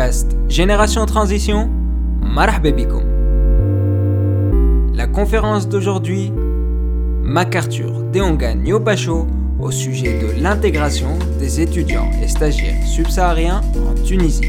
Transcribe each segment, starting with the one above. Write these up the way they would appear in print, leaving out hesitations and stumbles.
podcast Génération Transition, marhaba bikoum. La conférence d'aujourd'hui, MacArthur Deonga Nyopacho au sujet de l'intégration des étudiants et stagiaires subsahariens en Tunisie.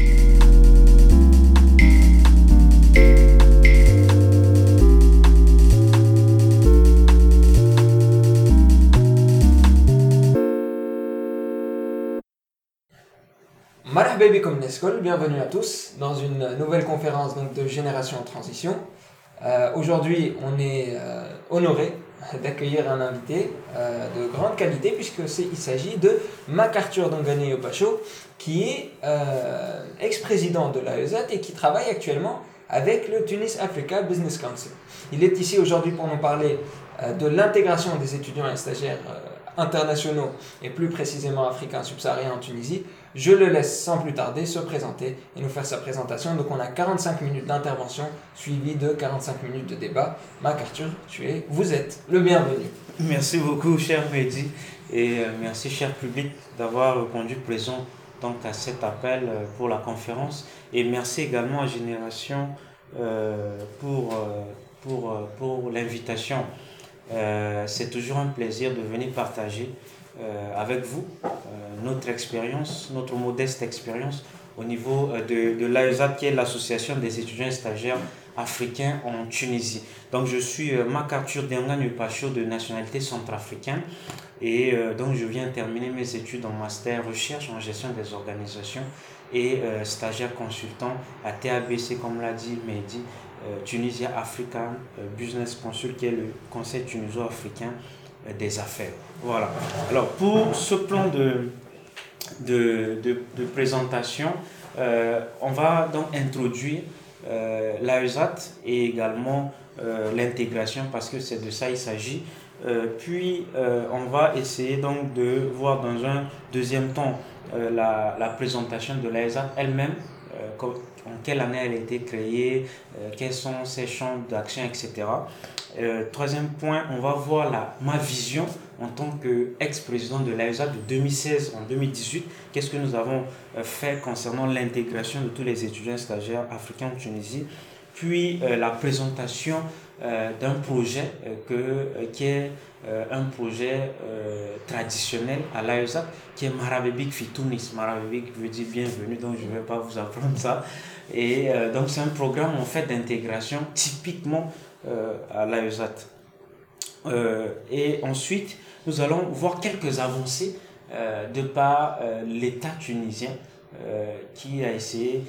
Marhaba bikoum Neskol, bienvenue à tous dans une nouvelle conférence donc, de Génération Transition. Aujourd'hui, on est honoré d'accueillir un invité de grande qualité puisqu'il s'agit de MacArthur Deonga Nyopacho qui est ex-président de l'AESAT et qui travaille actuellement avec le Tunis Africa Business Council. Il est ici aujourd'hui pour nous parler de l'intégration des étudiants et stagiaires internationaux et plus précisément africains subsahariens en Tunisie. Je le laisse sans plus tarder se présenter et nous faire sa présentation. Donc on a 45 minutes d'intervention suivies de 45 minutes de débat. MacArthur, vous êtes le bienvenu. Merci beaucoup cher Mehdi et merci cher public d'avoir répondu présent donc, à cet appel pour la conférence et merci également à Génération pour l'invitation. C'est toujours un plaisir de venir partager avec vous notre expérience, notre modeste expérience au niveau de l'AESAT qui est l'association des étudiants et stagiaires africains en Tunisie. Donc je suis MacArthur Deonga Nyopacho de nationalité centrafricaine et donc je viens terminer mes études en master recherche en gestion des organisations et stagiaire consultant à TABC comme l'a dit Mehdi, Tunisia African Business Council qui est le conseil tuniso-africain des affaires. Voilà. Alors pour ce plan de présentation, on va donc introduire l'AESAT et également l'intégration parce que c'est de ça il s'agit. Puis on va essayer donc de voir dans un deuxième temps la présentation de l'AESAT elle-même, en quelle année elle a été créée, quels sont ses champs d'action, etc. Troisième point, on va voir ma vision en tant qu'ex-président de l'AESAT de 2016 en 2018. Qu'est-ce que nous avons fait concernant l'intégration de tous les étudiants stagiaires africains en Tunisie. Puis la présentation d'un projet qui est un projet traditionnel à l'AESAT qui est Marhaba bik fi Tunis. Marhaba bik veut dire bienvenue, donc je ne vais pas vous apprendre ça. Et donc c'est un programme en fait d'intégration typiquement à l'AESAT. Et ensuite, nous allons voir quelques avancées de par l'État tunisien qui a essayé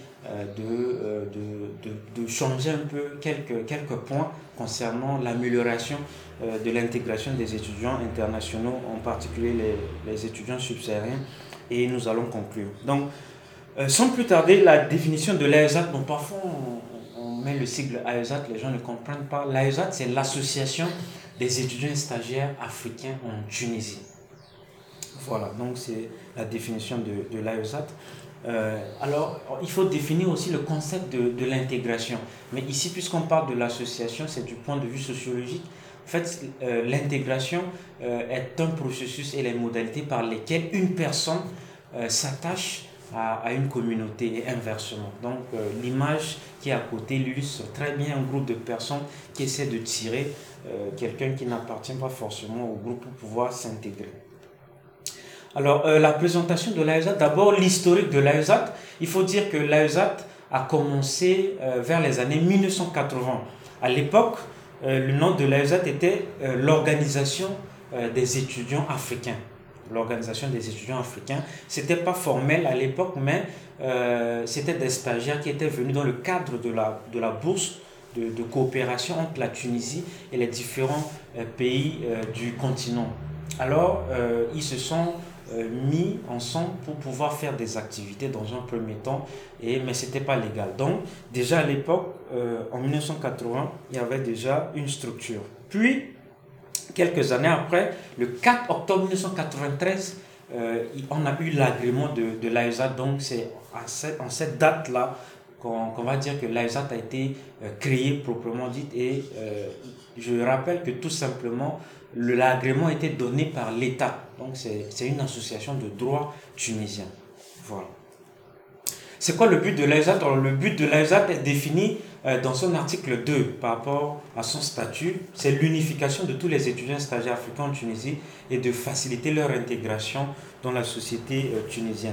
de changer un peu quelques points concernant l'amélioration de l'intégration des étudiants internationaux, en particulier les étudiants subsahariens, et nous allons conclure. Donc, sans plus tarder, la définition de l'AESAT, donc parfois on met le sigle AESAT, les gens ne comprennent pas. L'AESAT, c'est l'association des étudiants et stagiaires africains en Tunisie. Voilà, donc c'est la définition de l'AESAT. Alors, il faut définir aussi le concept de l'intégration. Mais ici, puisqu'on parle de l'association, c'est du point de vue sociologique. En fait, l'intégration est un processus et les modalités par lesquelles une personne s'attache à une communauté et inversement. Donc, l'image qui est à côté illustre très bien un groupe de personnes qui essaient de tirer quelqu'un qui n'appartient pas forcément au groupe pour pouvoir s'intégrer. Alors, la présentation de l'AESAT, d'abord l'historique de l'AESAT. Il faut dire que l'AESAT a commencé vers les années 1980. À l'époque, le nom de l'AESAT était l'Organisation des étudiants africains. L'Organisation des étudiants africains. Ce n'était pas formel à l'époque, mais c'était des stagiaires qui étaient venus dans le cadre de la bourse de coopération entre la Tunisie et les différents pays du continent. Alors, ils se sont mis ensemble pour pouvoir faire des activités dans un premier temps, mais ce n'était pas légal. Donc, déjà à l'époque, en 1980, il y avait déjà une structure. Puis, quelques années après, le 4 octobre 1993, on a eu l'agrément de l'AESAT. Donc, c'est en cette date-là qu'on va dire que l'AESAT a été créé proprement dit. Et je rappelle que tout simplement, l'agrément a été donné par l'État. Donc, c'est une association de droit tunisien. Voilà. C'est quoi le but de l'AESAT? Alors, le but de l'AESAT est défini dans son article 2 par rapport à son statut. C'est l'unification de tous les étudiants stagiaires africains en Tunisie et de faciliter leur intégration dans la société tunisienne.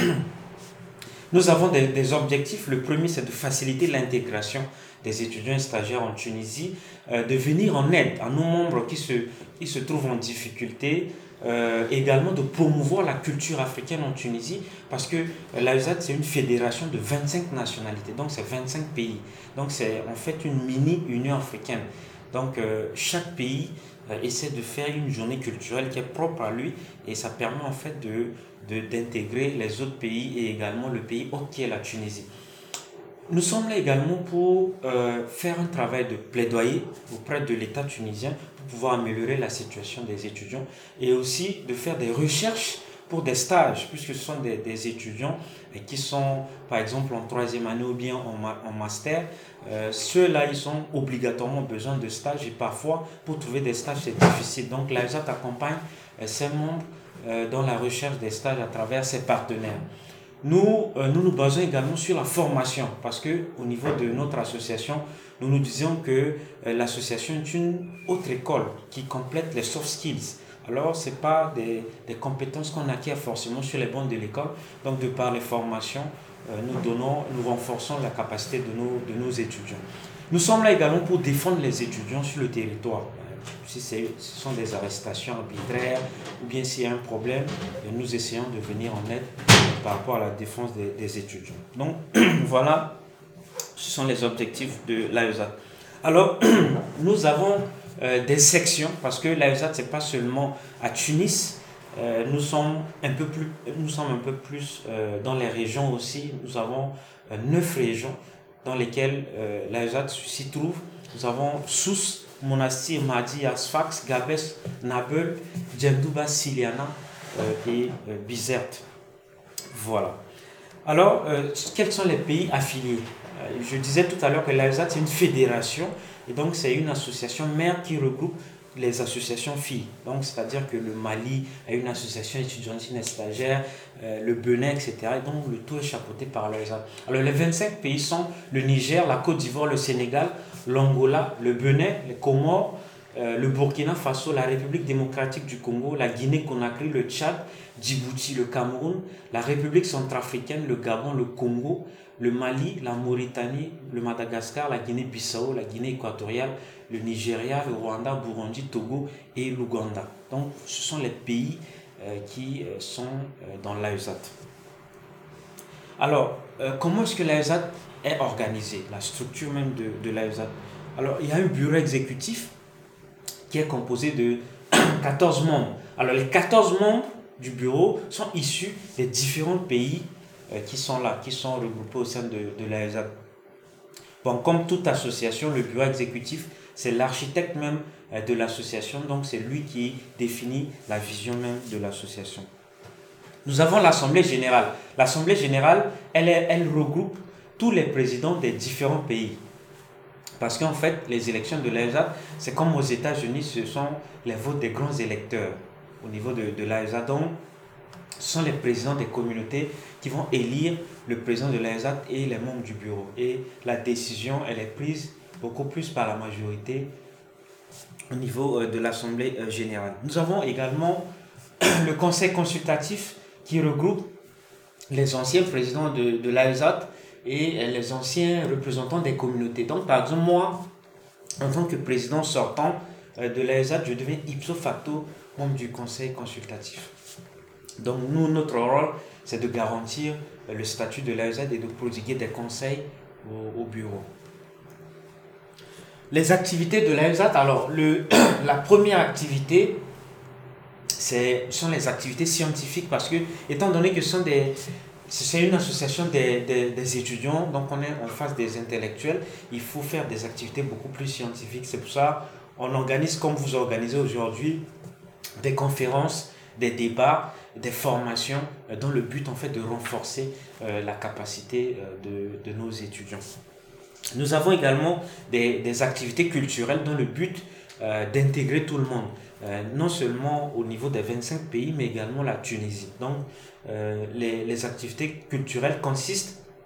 Nous avons des objectifs. Le premier, c'est de faciliter l'intégration des étudiants et stagiaires en Tunisie, de venir en aide à nos membres qui se trouvent en difficulté, également de promouvoir la culture africaine en Tunisie, parce que l'AESAT, c'est une fédération de 25 nationalités, donc c'est 25 pays. Donc c'est en fait une mini-Union africaine. Donc chaque pays essaie de faire une journée culturelle qui est propre à lui, et ça permet en fait d'intégrer les autres pays et également le pays hôte qui est la Tunisie. Nous sommes là également pour faire un travail de plaidoyer auprès de l'État tunisien pour pouvoir améliorer la situation des étudiants et aussi de faire des recherches pour des stages, puisque ce sont des étudiants qui sont par exemple en troisième année ou bien en master. Ceux-là, ils ont obligatoirement besoin de stages et parfois pour trouver des stages c'est difficile. Donc l'AESAT accompagne ses membres dans la recherche des stages à travers ses partenaires. Nous nous basons également sur la formation parce que au niveau de notre association, nous disions que l'association est une autre école qui complète les soft skills. Alors, ce n'est pas des compétences qu'on acquiert forcément sur les bancs de l'école. Donc, de par les formations, nous renforçons la capacité de nos étudiants. Nous sommes là également pour défendre les étudiants sur le territoire. Si ce sont des arrestations arbitraires ou bien s'il y a un problème, nous essayons de venir en aide par rapport à la défense des étudiants. Donc voilà, ce sont les objectifs de l'AESAT. Alors nous avons des sections parce que l'AESAT c'est pas seulement à Tunis, nous sommes un peu plus dans les régions aussi. Nous avons 9 régions dans lesquelles l'AESAT s'y trouve. Nous avons Sousse, Monastir, Madi, Asfax, Gabès, Nabeul, Djendouba, Siliana et Bizerte. Voilà. Alors, quels sont les pays affiliés? Je disais tout à l'heure que l'AESAT c'est une fédération et donc c'est une association mère qui regroupe les associations filles. Donc, c'est-à-dire que le Mali a une association étudiantine et stagiaire, le Bénin, etc. Et donc, le tout est chapeauté par l'AESAT. Alors, les 25 pays sont le Niger, la Côte d'Ivoire, le Sénégal, l'Angola, le Bénin, les Comores, le Burkina Faso, la République démocratique du Congo, la Guinée-Conakry, le Tchad, Djibouti, le Cameroun, la République centrafricaine, le Gabon, le Congo, le Mali, la Mauritanie, le Madagascar, la Guinée-Bissau, la Guinée équatoriale, le Nigeria, le Rwanda, Burundi, Togo et l'Ouganda. Donc, ce sont les pays qui sont dans l'AESAT. Alors, comment est-ce que l'AESAT est organisée? La structure même de l'AESAT. Alors, il y a un bureau exécutif qui est composé de 14 membres. Alors, les 14 membres du bureau sont issus des différents pays qui sont là, qui sont regroupés au sein de l'AESAT. Bon, comme toute association, le bureau exécutif, c'est l'architecte même de l'association, donc c'est lui qui définit la vision même de l'association. Nous avons l'Assemblée générale. L'Assemblée générale, elle regroupe tous les présidents des différents pays. Parce qu'en fait, les élections de l'AESAT, c'est comme aux États-Unis, ce sont les votes des grands électeurs au niveau de l'AESAT. Donc, ce sont les présidents des communautés qui vont élire le président de l'AESAT et les membres du bureau. Et la décision, elle est prise beaucoup plus par la majorité au niveau de l'Assemblée générale. Nous avons également le conseil consultatif qui regroupe les anciens présidents de l'AESAT et les anciens représentants des communautés. Donc, par exemple, moi, en tant que président sortant de l'AESAT, je deviens ipso facto membre du conseil consultatif. Donc, nous, notre rôle, c'est de garantir le statut de l'AESAT et de prodiguer des conseils au bureau. Les activités de l'AESAT, alors, la première activité, ce sont les activités scientifiques parce que, étant donné que c'est une association des étudiants, donc on est en face des intellectuels, il faut faire des activités beaucoup plus scientifiques. C'est pour ça qu'on organise, comme vous organisez aujourd'hui, des conférences, des débats, des formations dans le but en fait de renforcer la capacité de nos étudiants. Nous avons également des activités culturelles dans le but d'intégrer tout le monde, non seulement au niveau des 25 pays, mais également la Tunisie. Donc, les activités culturelles consistent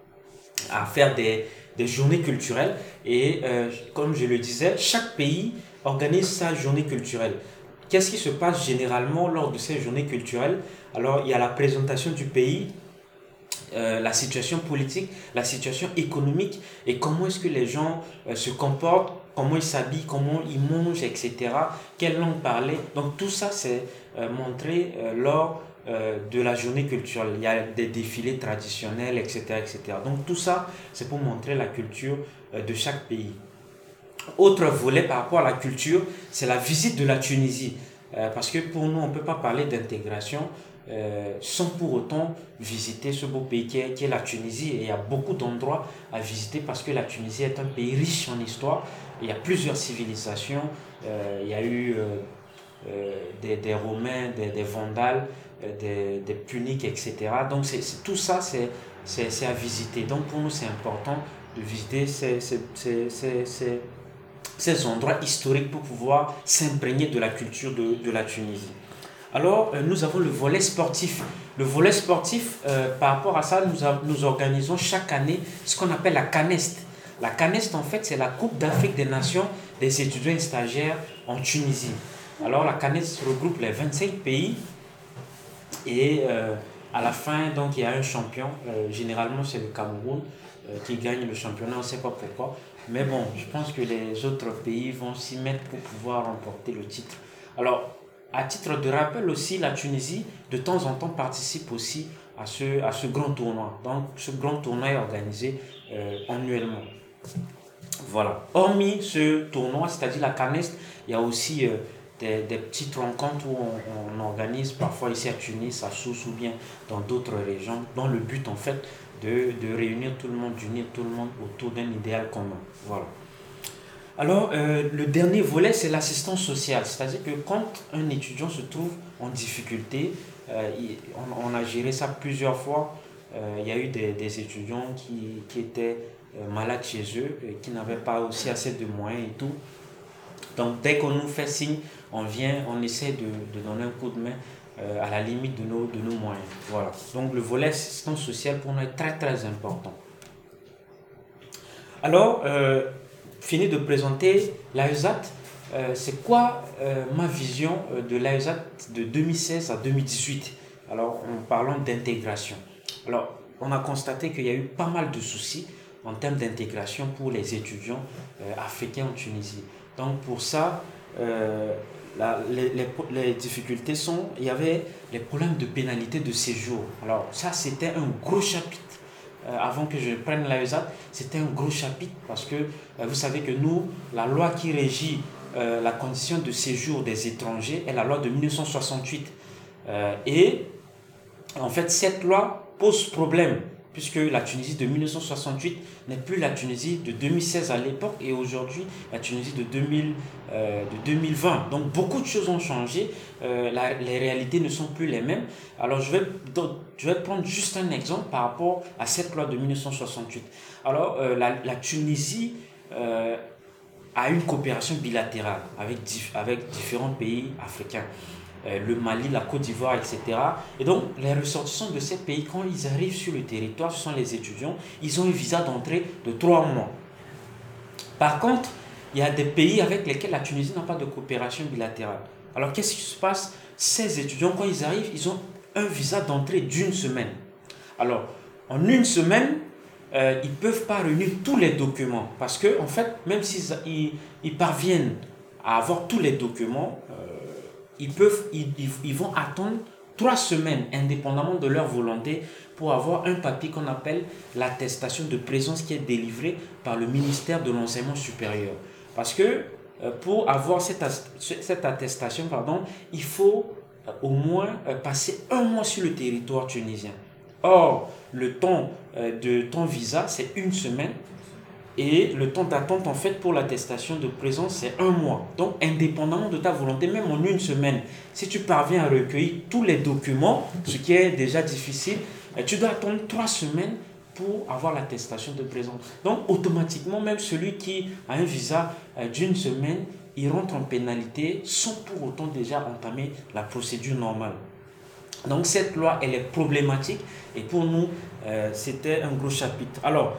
à faire des journées culturelles. Et comme je le disais, chaque pays organise sa journée culturelle. Qu'est-ce qui se passe généralement lors de ces journées culturelles? Alors, il y a la présentation du pays, la situation politique, la situation économique et comment est-ce que les gens se comportent, comment ils s'habillent, comment ils mangent, etc. Quelle langue parler. Donc tout ça, c'est montré lors de la journée culturelle. Il y a des défilés traditionnels, etc., etc. Donc tout ça, c'est pour montrer la culture de chaque pays. Autre volet par rapport à la culture, c'est la visite de la Tunisie. Parce que pour nous, on ne peut pas parler d'intégration sans pour autant visiter ce beau pays qui est la Tunisie. Et il y a beaucoup d'endroits à visiter parce que la Tunisie est un pays riche en histoire. Il y a plusieurs civilisations. Il y a eu des Romains, des Vandales, des Puniques, etc. Donc tout ça, c'est à visiter. Donc pour nous, c'est important de visiter ces endroits historiques pour pouvoir s'imprégner de la culture de la Tunisie. Alors, nous avons le volet sportif. Le volet sportif, par rapport à ça, nous organisons chaque année ce qu'on appelle la Canest. La Canest, en fait, c'est la Coupe d'Afrique des Nations des étudiants et stagiaires en Tunisie. Alors, la Canest regroupe les 25 pays et à la fin, donc, il y a un champion. Généralement, c'est le Cameroun qui gagne le championnat, on ne sait pas pourquoi. Mais bon, je pense que les autres pays vont s'y mettre pour pouvoir remporter le titre. Alors, à titre de rappel aussi, la Tunisie, de temps en temps, participe aussi à ce grand tournoi. Donc, ce grand tournoi est organisé annuellement. Voilà. Hormis ce tournoi, c'est-à-dire la Canest, il y a aussi des petites rencontres où on organise parfois ici à Tunis, à Sousse ou bien dans d'autres régions, dans le but en fait de réunir tout le monde, d'unir tout le monde autour d'un idéal commun. Voilà. Alors, le dernier volet, c'est l'assistance sociale. C'est-à-dire que quand un étudiant se trouve en difficulté, on a géré ça plusieurs fois. Il y a eu des étudiants qui étaient malades chez eux, et qui n'avaient pas aussi assez de moyens et tout. Donc, dès qu'on nous fait signe, on vient, on essaie de donner un coup de main à la limite de nos moyens. Voilà. Donc, le volet assistance sociale pour nous est très, très important. Alors, fini de présenter l'AESAT. C'est quoi ma vision de l'AESAT de 2016 à 2018? Alors, en parlant d'intégration. Alors, on a constaté qu'il y a eu pas mal de soucis en termes d'intégration pour les étudiants africains en Tunisie. Donc, pour ça, les difficultés sont, il y avait les problèmes de pénalité de séjour. Alors, ça, c'était un gros chapitre. Avant que je prenne l'AESAT, c'était un gros chapitre parce que vous savez que nous, la loi qui régit la condition de séjour des étrangers est la loi de 1968. Et en fait, cette loi pose problème puisque la Tunisie de 1968 n'est plus la Tunisie de 2016 à l'époque et aujourd'hui la Tunisie de 2020. Donc beaucoup de choses ont changé, les réalités ne sont plus les mêmes. Alors je vais prendre juste un exemple par rapport à cette loi de 1968. Alors la Tunisie a une coopération bilatérale avec différents pays africains. Le Mali, la Côte d'Ivoire, etc. Et donc, les ressortissants de ces pays, quand ils arrivent sur le territoire, ce sont les étudiants, ils ont un visa d'entrée de 3 mois. Par contre, il y a des pays avec lesquels la Tunisie n'a pas de coopération bilatérale. Alors, qu'est-ce qui se passe? Ces étudiants, quand ils arrivent, ils ont un visa d'entrée d'1 semaine. Alors, en 1 semaine, ils ne peuvent pas réunir tous les documents. Parce que, en fait, même s'ils parviennent à avoir tous les documents, ils vont attendre 3 semaines, indépendamment de leur volonté, pour avoir un papier qu'on appelle l'attestation de présence qui est délivrée par le ministère de l'Enseignement supérieur. Parce que pour avoir cette attestation, il faut au moins passer 1 mois sur le territoire tunisien. Or, le temps de ton visa, c'est 1 semaine. Et le temps d'attente en fait pour l'attestation de présence c'est 1 mois. Donc indépendamment de ta volonté, même en 1 semaine, si tu parviens à recueillir tous les documents, ce qui est déjà difficile, tu dois attendre 3 semaines pour avoir l'attestation de présence. Donc automatiquement, même celui qui a un visa d'1 semaine, il rentre en pénalité sans pour autant déjà entamer la procédure normale. Donc cette loi, elle est problématique et pour nous, c'était un gros chapitre. Alors,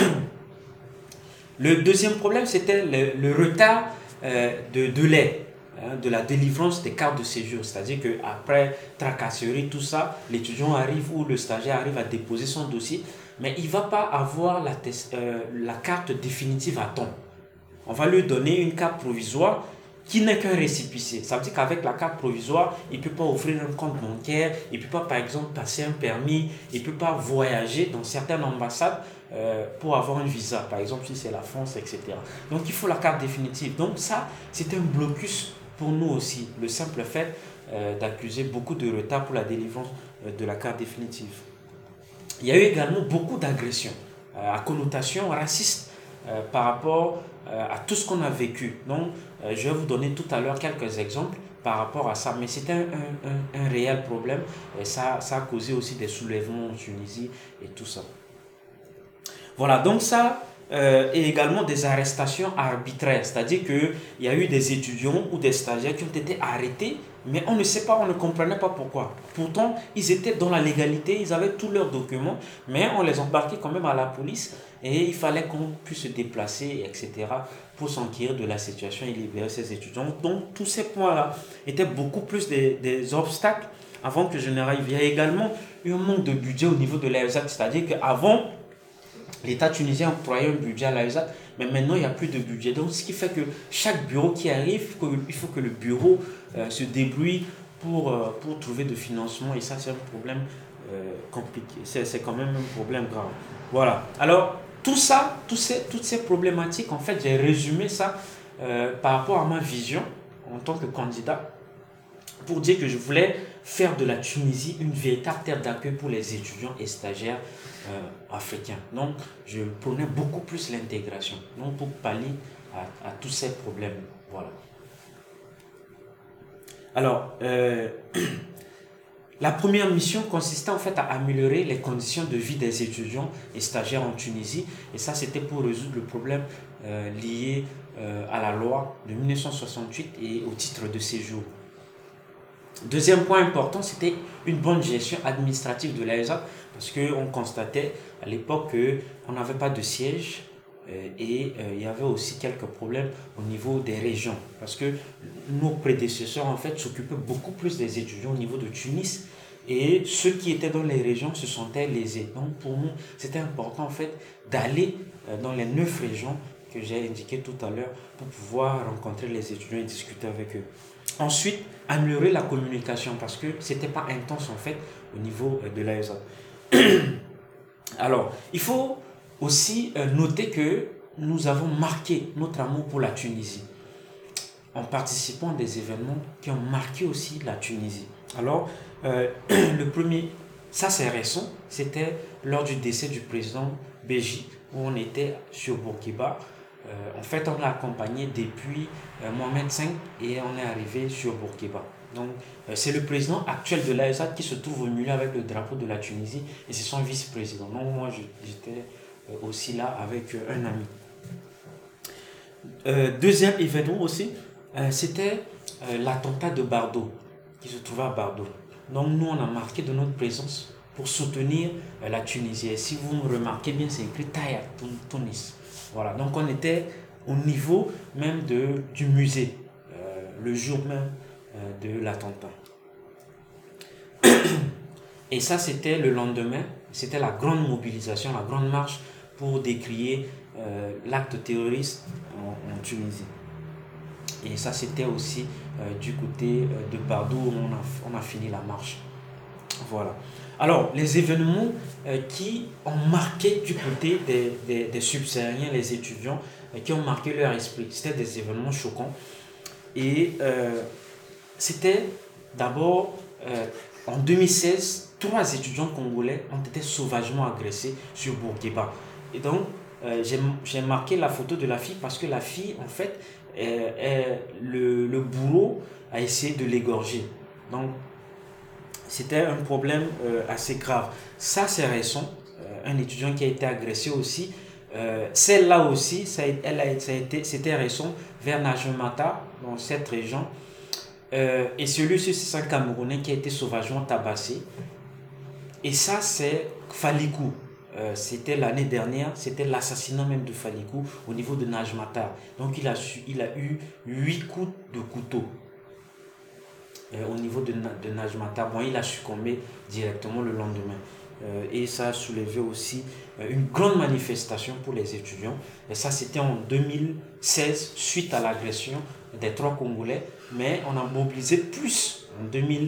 le deuxième problème, c'était le retard de délai de la délivrance des cartes de séjour. C'est-à-dire qu'après tracasserie, tout ça, l'étudiant arrive ou le stagiaire arrive à déposer son dossier, mais il ne va pas avoir la carte définitive à temps. On va lui donner une carte provisoire qui n'est qu'un récépissé. Ça veut dire qu'avec la carte provisoire, il ne peut pas ouvrir un compte bancaire, il ne peut pas, par exemple, passer un permis, il ne peut pas voyager dans certaines ambassades pour avoir un visa, par exemple si c'est la France, etc. Donc il faut la carte définitive. Donc ça, c'est un blocus pour nous aussi, le simple fait d'accuser beaucoup de retard pour la délivrance de la carte définitive. Il y a eu également beaucoup d'agressions à connotation raciste par rapport à tout ce qu'on a vécu. Donc, je vais vous donner tout à l'heure quelques exemples par rapport à ça, mais c'était un réel problème et ça a causé aussi des soulèvements en Tunisie et tout ça. Voilà, donc ça, et également des arrestations arbitraires, c'est-à-dire qu'il y a eu des étudiants ou des stagiaires qui ont été arrêtés, mais on ne sait pas, on ne comprenait pas pourquoi. Pourtant, ils étaient dans la légalité, ils avaient tous leurs documents, mais on les embarquait quand même à la police et il fallait qu'on puisse se déplacer, etc., pour s'enquérir de la situation et libérer ces étudiants. Donc, tous ces points-là étaient beaucoup plus des obstacles avant que je n'arrive. Il y a également eu un manque de budget au niveau de l'ESAT, c'est-à-dire qu'avant, l'État tunisien octroyait un budget à l'AESAT, mais maintenant il n'y a plus de budget. Donc ce qui fait que chaque bureau qui arrive, il faut que le bureau se débrouille pour trouver de financement. Et ça, c'est un problème compliqué. C'est quand même un problème grave. Voilà. Alors, tout ça, toutes ces problématiques, en fait, j'ai résumé ça par rapport à ma vision en tant que candidat pour dire que je voulais faire de la Tunisie une véritable terre d'accueil pour les étudiants et stagiaires africains. Donc, je prônais beaucoup plus l'intégration, donc pour pallier à tous ces problèmes. Voilà. Alors, la première mission consistait en fait à améliorer les conditions de vie des étudiants et stagiaires en Tunisie. Et ça, c'était pour résoudre le problème lié à la loi de 1968 et au titre de séjour. Deuxième point important, c'était une bonne gestion administrative de l'AESA parce qu'on constatait à l'époque qu'on n'avait pas de siège et il y avait aussi quelques problèmes au niveau des régions parce que nos prédécesseurs en fait s'occupaient beaucoup plus des étudiants au niveau de Tunis et ceux qui étaient dans les régions se sentaient lésés. Donc pour nous, c'était important en fait d'aller dans les 9 régions que j'ai indiquées tout à l'heure pour pouvoir rencontrer les étudiants et discuter avec eux. Ensuite, améliorer la communication parce que ce n'était pas intense en fait au niveau de l'AESA. Alors, il faut aussi noter que nous avons marqué notre amour pour la Tunisie en participant à des événements qui ont marqué aussi la Tunisie. Alors, le premier, ça c'est récent, c'était lors du décès du président Béji où on était sur Bourguiba. En fait, on l'a accompagné depuis Mohamed V et on est arrivé sur Bourguiba. Donc, c'est le président actuel de l'AESA qui se trouve au milieu avec le drapeau de la Tunisie et c'est son vice-président. Donc, moi, j'étais aussi là avec un ami. Deuxième événement aussi, c'était l'attentat de Bardo, qui se trouvait à Bardo. Donc, nous, on a marqué de notre présence pour soutenir la Tunisie. Et si vous me remarquez bien, c'est écrit Taïa, Tunis. Voilà, donc on était au niveau même du musée, le jour même de l'attentat. Et ça, c'était le lendemain, c'était la grande mobilisation, la grande marche pour décrier l'acte terroriste en Tunisie. Et ça, c'était aussi du côté de Bardo où on a fini la marche. Voilà. Alors, les événements qui ont marqué du côté des subsahariens, les étudiants, qui ont marqué leur esprit, c'était des événements choquants. Et c'était d'abord, en 2016, 3 étudiants congolais ont été sauvagement agressés sur Bourguiba. Et donc, j'ai marqué la photo de la fille parce que la fille, en fait, le bourreau a essayé de l'égorger. Donc, c'était un problème assez grave. Ça, c'est récent. Un étudiant qui a été agressé aussi. Celle-là aussi, c'était récent, vers Najmata, dans cette région. Et celui-ci, c'est un Camerounais qui a été sauvagement tabassé. Et ça, c'est Falikou. C'était l'année dernière, c'était l'assassinat même de Falikou au niveau de Najmata. Donc il a eu 8 coups de couteau au niveau de Najmata. Bon, il a succombé directement le lendemain. Et ça a soulevé aussi une grande manifestation pour les étudiants. Et ça, c'était en 2016, suite à l'agression des 3 Congolais. Mais on a mobilisé plus en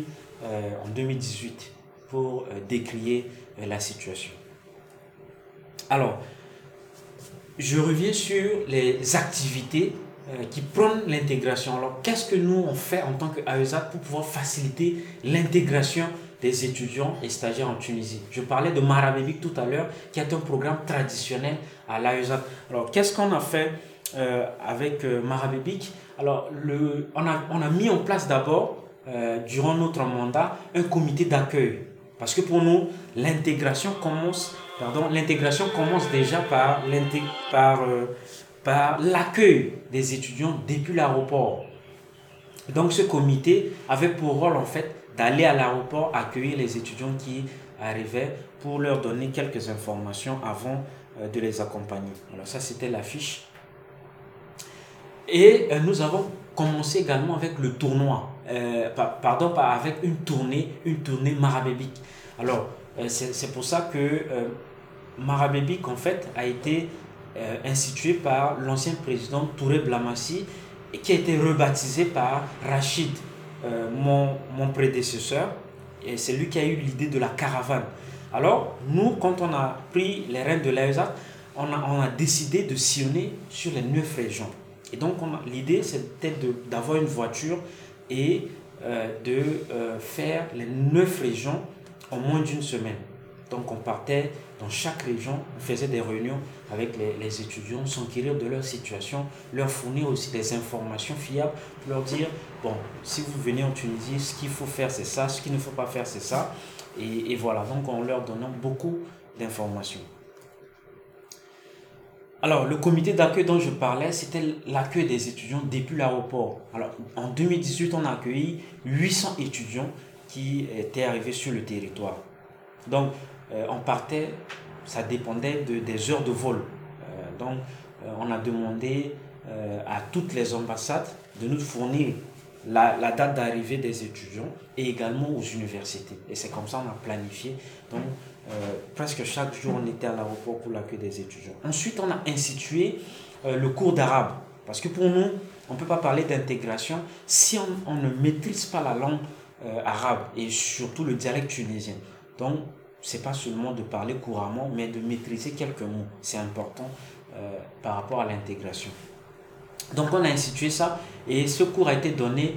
2018 pour décrier la situation. Alors, je reviens sur les activités qui prônent l'intégration. Alors, qu'est-ce que nous on fait en tant qu'AESA pour pouvoir faciliter l'intégration des étudiants et stagiaires en Tunisie? Je parlais de Marabébik tout à l'heure, qui est un programme traditionnel à l'AESA. Alors, qu'est-ce qu'on a fait avec Marabébik? Alors, on a mis en place d'abord, durant notre mandat, un comité d'accueil. Parce que pour nous, l'intégration commence déjà par l'accueil des étudiants depuis l'aéroport. Donc ce comité avait pour rôle en fait d'aller à l'aéroport accueillir les étudiants qui arrivaient pour leur donner quelques informations avant de les accompagner. Alors ça c'était l'affiche. Et nous avons commencé également avec le tournoi, avec une tournée Marabébik. Alors, c'est pour ça que Marabébik, en fait, a été institué par l'ancien président Touré Blamassi, et qui a été rebaptisé par Rachid, mon prédécesseur, et c'est lui qui a eu l'idée de la caravane. Alors, nous, quand on a pris les rênes de l'AESA, on a décidé de sillonner sur les 9 régions. Et donc, l'idée, c'était d'avoir une voiture et de faire les 9 régions en moins d'une semaine. Donc, on partait dans chaque région, on faisait des réunions avec les étudiants, s'enquérir de leur situation, leur fournir aussi des informations fiables pour leur dire, bon, si vous venez en Tunisie, ce qu'il faut faire, c'est ça, ce qu'il ne faut pas faire, c'est ça. Et voilà, donc on leur donnait beaucoup d'informations. Alors, le comité d'accueil dont je parlais, c'était l'accueil des étudiants depuis l'aéroport. Alors, en 2018, on a accueilli 800 étudiants qui étaient arrivés sur le territoire. Donc, on partait, ça dépendait des heures de vol. On a demandé à toutes les ambassades de nous fournir la date d'arrivée des étudiants et également aux universités. Et c'est comme ça qu'on a planifié. Donc, presque chaque jour, on était à l'aéroport pour l'accueil des étudiants. Ensuite, on a institué le cours d'arabe. Parce que pour nous, on ne peut pas parler d'intégration si on ne maîtrise pas la langue arabe et surtout le dialecte tunisien. Donc, ce n'est pas seulement de parler couramment, mais de maîtriser quelques mots. C'est important par rapport à l'intégration. Donc, on a institué ça et ce cours a été donné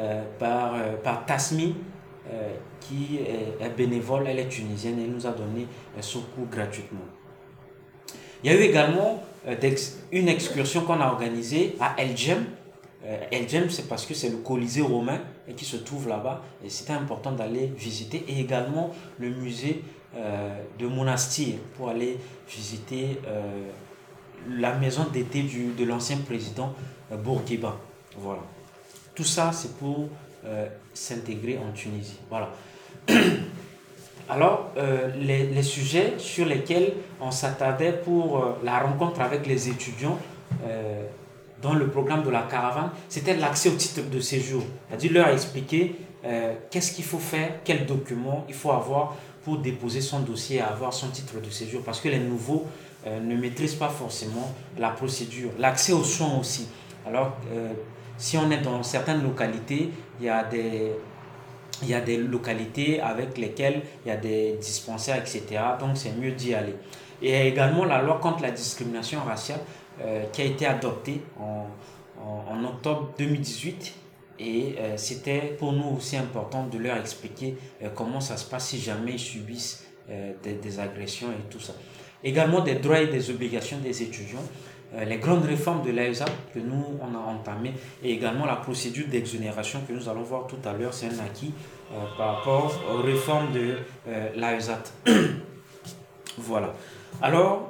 par Tasmi, qui est bénévole, elle est tunisienne, elle nous a donné ce cours gratuitement. Il y a eu également une excursion qu'on a organisée à El Djem. El Djem, c'est parce que c'est le Colisée romain et qui se trouve là-bas. Et c'était important d'aller visiter. Et également le musée de Monastir pour aller visiter la maison d'été de l'ancien président Bourguiba. Voilà. Tout ça, c'est pour s'intégrer en Tunisie. Voilà. Alors, les sujets sur lesquels on s'attardait pour la rencontre avec les étudiants dans le programme de la caravane, c'était l'accès au titre de séjour. C'est-à-dire leur expliquer qu'est-ce qu'il faut faire, quels documents il faut avoir pour déposer son dossier et avoir son titre de séjour. Parce que les nouveaux ne maîtrisent pas forcément la procédure. L'accès aux soins aussi. Alors, si on est dans certaines localités, il y a des localités avec lesquelles il y a des dispensaires, etc. Donc, c'est mieux d'y aller. Et il y a également la loi contre la discrimination raciale qui a été adoptée en octobre 2018. Et c'était pour nous aussi important de leur expliquer comment ça se passe si jamais ils subissent des agressions et tout ça. Également des droits et des obligations des étudiants. Les grandes réformes de l'AESA que nous on a entamées et également la procédure d'exonération que nous allons voir tout à l'heure, c'est un acquis par rapport aux réformes de l'AESA. Voilà. Alors,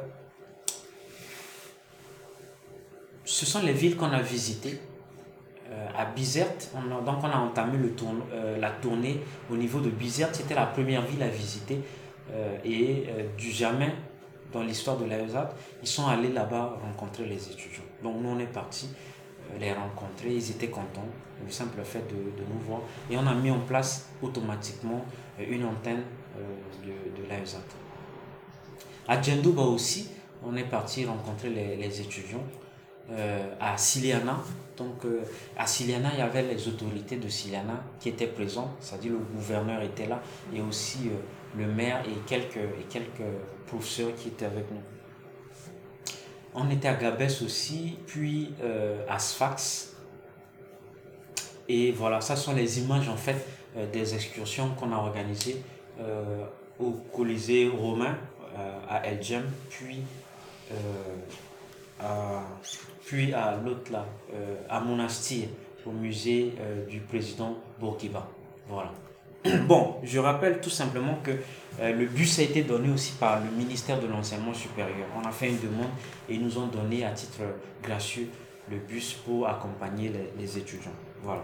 ce sont les villes qu'on a visitées. à Bizerte. Donc on a entamé la tournée au niveau de Bizerte. C'était la première ville à visiter. Du jamais dans l'histoire de l'AESAT, ils sont allés là-bas rencontrer les étudiants. Donc nous on est partis les rencontrer, ils étaient contents, le simple fait de nous voir. Et on a mis en place automatiquement une antenne de l'AESAT. À Djendouba aussi, on est parti rencontrer les étudiants. À Siliana, donc à Siliana, il y avait les autorités de Siliana qui étaient présentes, c'est-à-dire le gouverneur était là, et aussi le maire et quelques professeurs qui étaient avec nous. On était à Gabès aussi, puis à Sfax. Et voilà, ça sont les images en fait des excursions qu'on a organisées au Colisée romain à El Djem, puis à l'autre là, à Monastir, au musée du président Bourguiba. Voilà. Bon, je rappelle tout simplement que le bus a été donné aussi par le ministère de l'Enseignement supérieur. On a fait une demande et ils nous ont donné à titre gracieux le bus pour accompagner les étudiants. Voilà.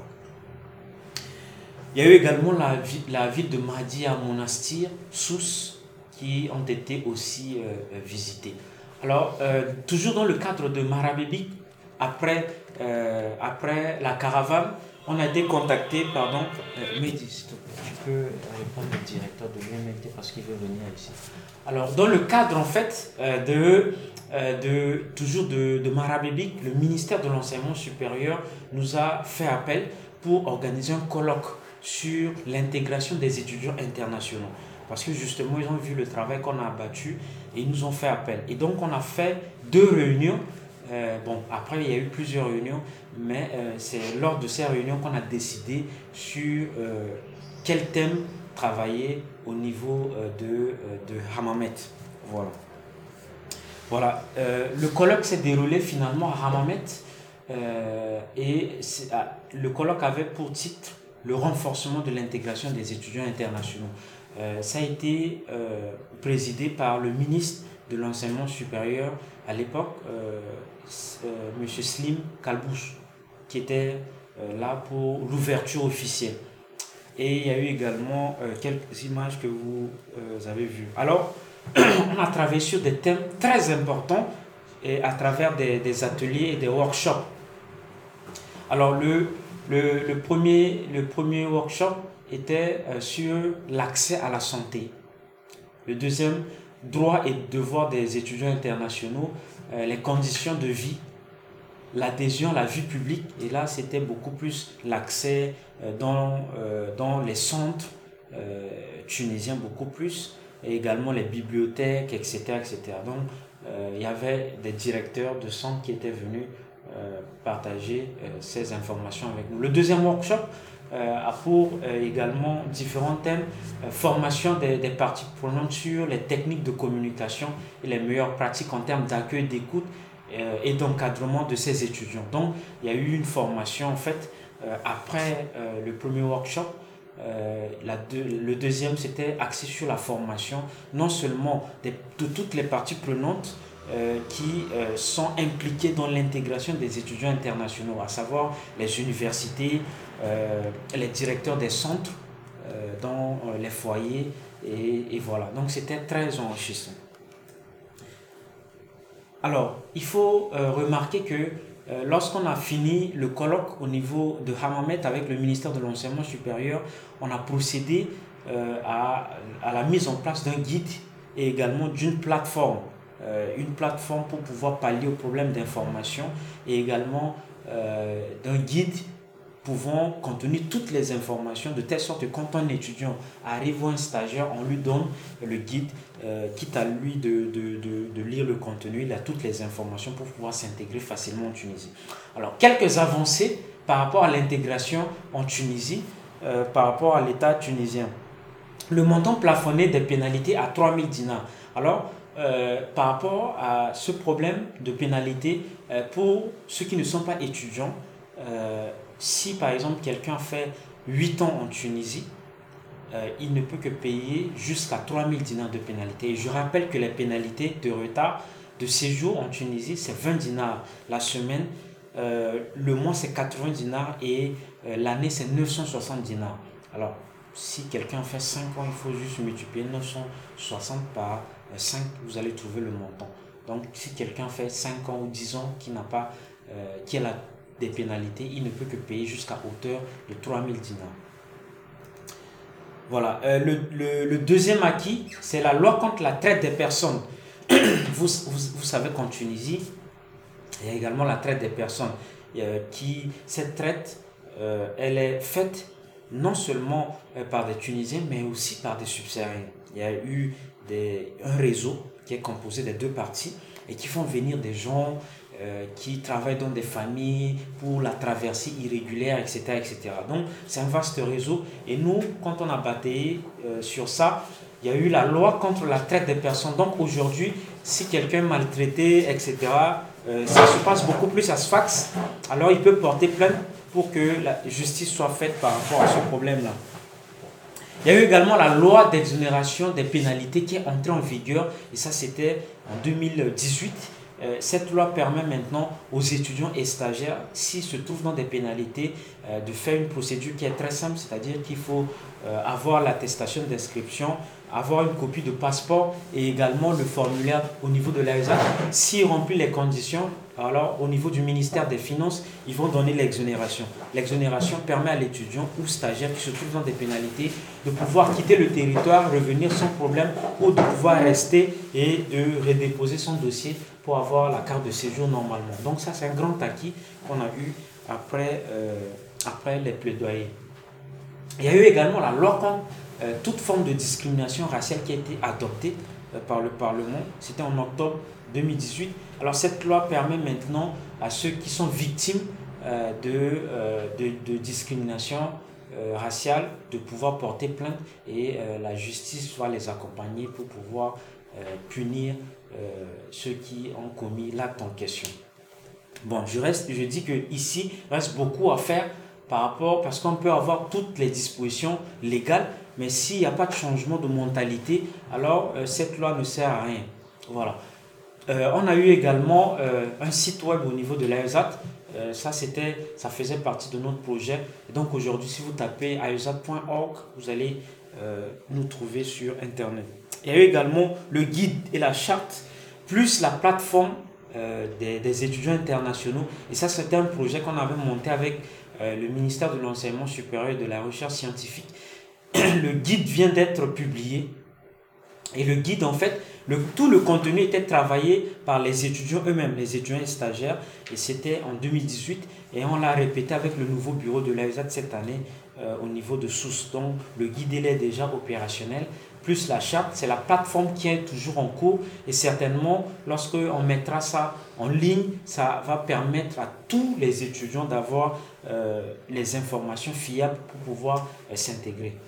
Il y a eu également la ville de Mahdi à Monastir, Sousse, qui ont été aussi visitées. Alors, toujours dans le cadre de Marabébik, après la caravane, on a été contacté, Mehdi, s'il te plaît, tu peux répondre au directeur de l'UMNT parce qu'il veut venir ici. Alors, dans le cadre en fait toujours de Marabébik, le ministère de l'Enseignement supérieur nous a fait appel pour organiser un colloque sur l'intégration des étudiants internationaux. Parce que justement, ils ont vu le travail qu'on a abattu et ils nous ont fait appel. Et donc, on a fait 2 réunions. Après, il y a eu plusieurs réunions, mais c'est lors de ces réunions qu'on a décidé sur quel thème travailler au niveau de Hammamet. Voilà. Le colloque s'est déroulé finalement à Hammamet le colloque avait pour titre le renforcement de l'intégration des étudiants internationaux. Ça a été présidé par le ministre de l'Enseignement supérieur à l'époque, M. Slim Kalbouch, qui était là pour l'ouverture officielle. Et il y a eu également quelques images que vous avez vues. Alors, on a travaillé sur des thèmes très importants et à travers des ateliers et des workshops. Alors, le premier workshop était sur l'accès à la santé. Le deuxième, droits et devoirs des étudiants internationaux, les conditions de vie, l'adhésion à la vie publique. Et là, c'était beaucoup plus l'accès dans les centres tunisiens, beaucoup plus, et également les bibliothèques, etc. etc. Donc, il y avait des directeurs de centres qui étaient venus partager ces informations avec nous. Le deuxième workshop a pour également différents thèmes, formation des parties prenantes sur les techniques de communication et les meilleures pratiques en termes d'accueil, d'écoute et d'encadrement de ces étudiants. Donc, il y a eu une formation en fait après le premier workshop. Le deuxième, c'était axé sur la formation, non seulement de toutes les parties prenantes qui sont impliquées dans l'intégration des étudiants internationaux, à savoir les universités, les directeurs des centres, dans les foyers, et voilà. Donc c'était très enrichissant. Alors, il faut remarquer que lorsqu'on a fini le colloque au niveau de Hammamet avec le ministère de l'Enseignement supérieur, on a procédé à la mise en place d'un guide et également d'une plateforme. Une plateforme pour pouvoir pallier au problème d'information et également d'un guide pouvant contenir toutes les informations de telle sorte que quand un étudiant arrive ou un stagiaire, on lui donne le guide, quitte à lui de lire le contenu, il a toutes les informations pour pouvoir s'intégrer facilement en Tunisie. Alors, quelques avancées par rapport à l'intégration en Tunisie, par rapport à l'État tunisien. Le montant plafonné des pénalités à 3000 dinars. Alors, par rapport à ce problème de pénalité, pour ceux qui ne sont pas étudiants, si par exemple quelqu'un fait 8 ans en Tunisie, il ne peut que payer jusqu'à 3000 dinars de pénalité. Et je rappelle que les pénalités de retard de séjour en Tunisie, c'est 20 dinars la semaine le mois c'est 80 dinars et l'année c'est 960 dinars. Alors, si quelqu'un fait 5 ans, il faut juste multiplier 960 par 5, vous allez trouver le montant. Donc, si quelqu'un fait 5 ans ou 10 ans qui a des pénalités, il ne peut que payer jusqu'à hauteur de 3000 dinars. Voilà. Le deuxième acquis, c'est la loi contre la traite des personnes. Vous savez qu'en Tunisie, il y a également la traite des personnes. Cette traite, elle est faite non seulement par des Tunisiens, mais aussi par des subsahariens. Il y a eu un réseau qui est composé des deux parties et qui font venir des gens qui travaillent dans des familles pour la traversée irrégulière, etc. etc. Donc, c'est un vaste réseau. Et nous, quand on a bataillé sur ça, il y a eu la loi contre la traite des personnes. Donc, aujourd'hui, si quelqu'un est maltraité, etc., ça se passe beaucoup plus à Sfax, alors il peut porter plainte pour que la justice soit faite par rapport à ce problème-là. Il y a eu également la loi d'exonération des pénalités qui est entrée en vigueur, et ça c'était en 2018. Cette loi permet maintenant aux étudiants et stagiaires, s'ils se trouvent dans des pénalités, de faire une procédure qui est très simple, c'est-à-dire qu'il faut avoir l'attestation d'inscription, avoir une copie de passeport et également le formulaire au niveau de l'AESA. S'il remplit les conditions, alors au niveau du ministère des Finances, ils vont donner l'exonération. L'exonération permet à l'étudiant ou stagiaire qui se trouve dans des pénalités de pouvoir quitter le territoire, revenir sans problème ou de pouvoir rester et de redéposer son dossier pour avoir la carte de séjour normalement. Donc ça, c'est un grand acquis qu'on a eu après les plaidoyers. Il y a eu également la loi contre toute forme de discrimination raciale qui a été adoptée par le Parlement. C'était en octobre 2018. Alors cette loi permet maintenant à ceux qui sont victimes de discrimination raciale de pouvoir porter plainte et la justice va les accompagner pour pouvoir punir ceux qui ont commis l'acte en question. Bon, je dis que ici il reste beaucoup à faire parce qu'on peut avoir toutes les dispositions légales, mais s'il n'y a pas de changement de mentalité, alors cette loi ne sert à rien. Voilà. On a eu également un site web au niveau de l'AESAT. Ça faisait partie de notre projet. Et donc aujourd'hui, si vous tapez aesat.org, vous allez nous trouver sur Internet. Il y a eu également le guide et la charte, plus la plateforme des étudiants internationaux. Et ça, c'était un projet qu'on avait monté avec le ministère de l'Enseignement supérieur et de la Recherche scientifique. Le guide vient d'être publié. Et le guide, en fait, tout le contenu était travaillé par les étudiants eux-mêmes, les étudiants et stagiaires. Et c'était en 2018. Et on l'a répété avec le nouveau bureau de l'AESAT cette année au niveau de Sousse. Donc, le guide, il est déjà opérationnel. Plus la charte, c'est la plateforme qui est toujours en cours. Et certainement, lorsqu'on mettra ça en ligne, ça va permettre à tous les étudiants d'avoir les informations fiables pour pouvoir s'intégrer.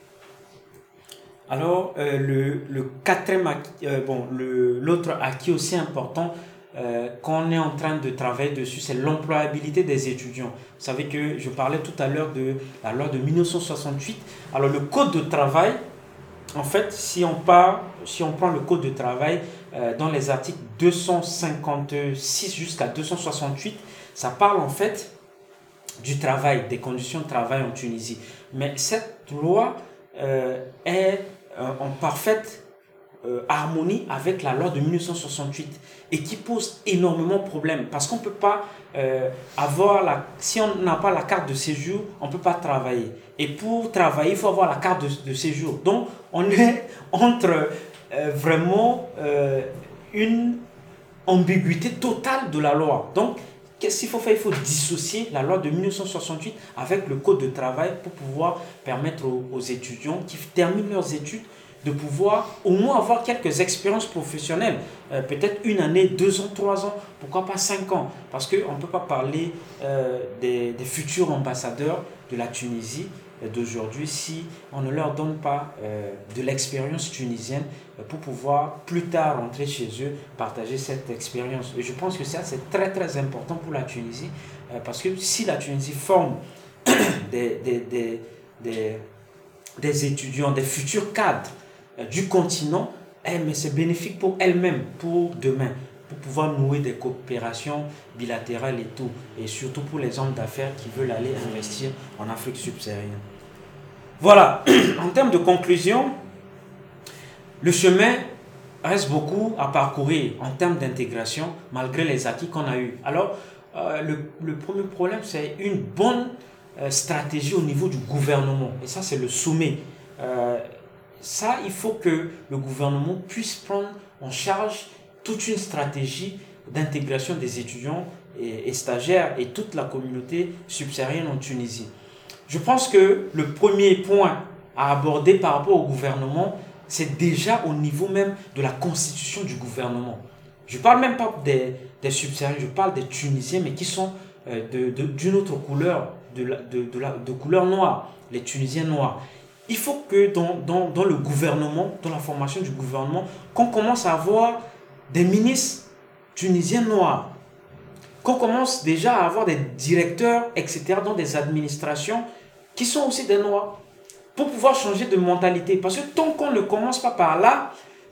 Alors, le quatrième acquis, l'autre acquis aussi important qu'on est en train de travailler dessus, c'est l'employabilité des étudiants. Vous savez que je parlais tout à l'heure de la loi de 1968. Alors, le code de travail, en fait, si on prend le code de travail dans les articles 256 jusqu'à 268, ça parle en fait du travail, des conditions de travail en Tunisie. Mais cette loi est en parfaite harmonie avec la loi de 1968 et qui pose énormément de problèmes parce qu'on ne peut pas si on n'a pas la carte de séjour, on ne peut pas travailler. Et pour travailler, il faut avoir la carte de séjour. Donc, on est entre vraiment une ambiguïté totale de la loi. Donc, qu'est-ce qu'il faut faire? Il faut dissocier la loi de 1968 avec le code de travail pour pouvoir permettre aux étudiants qui terminent leurs études de pouvoir au moins avoir quelques expériences professionnelles, peut-être 1 année, 2 ans, 3 ans, pourquoi pas 5 ans, parce qu'on ne peut pas parler des futurs ambassadeurs de la Tunisie d'aujourd'hui si on ne leur donne pas de l'expérience tunisienne pour pouvoir plus tard rentrer chez eux, partager cette expérience. Et je pense que ça c'est très très important pour la Tunisie parce que si la Tunisie forme des étudiants, des futurs cadres du continent, mais c'est bénéfique pour elle-même, pour demain. pour pouvoir nouer des coopérations bilatérales et tout, et surtout pour les hommes d'affaires qui veulent aller investir en Afrique subsaharienne. Voilà, en termes de conclusion, le chemin reste beaucoup à parcourir en termes d'intégration malgré les acquis qu'on a eus. Alors, le premier problème, c'est une bonne stratégie au niveau du gouvernement. Et ça, c'est le sommet. Ça, il faut que le gouvernement puisse prendre en charge toute une stratégie d'intégration des étudiants et stagiaires et toute la communauté subsaharienne en Tunisie. Je pense que le premier point à aborder par rapport au gouvernement, c'est déjà au niveau même de la constitution du gouvernement. Je ne parle même pas des subsahariens, je parle des Tunisiens, mais qui sont d'une autre couleur, de couleur noire, les Tunisiens noirs. Il faut que dans le gouvernement, dans la formation du gouvernement, qu'on commence à avoir des ministres tunisiens noirs, qu'on commence déjà à avoir des directeurs, etc., dans des administrations qui sont aussi des noirs, pour pouvoir changer de mentalité. Parce que tant qu'on ne commence pas par là,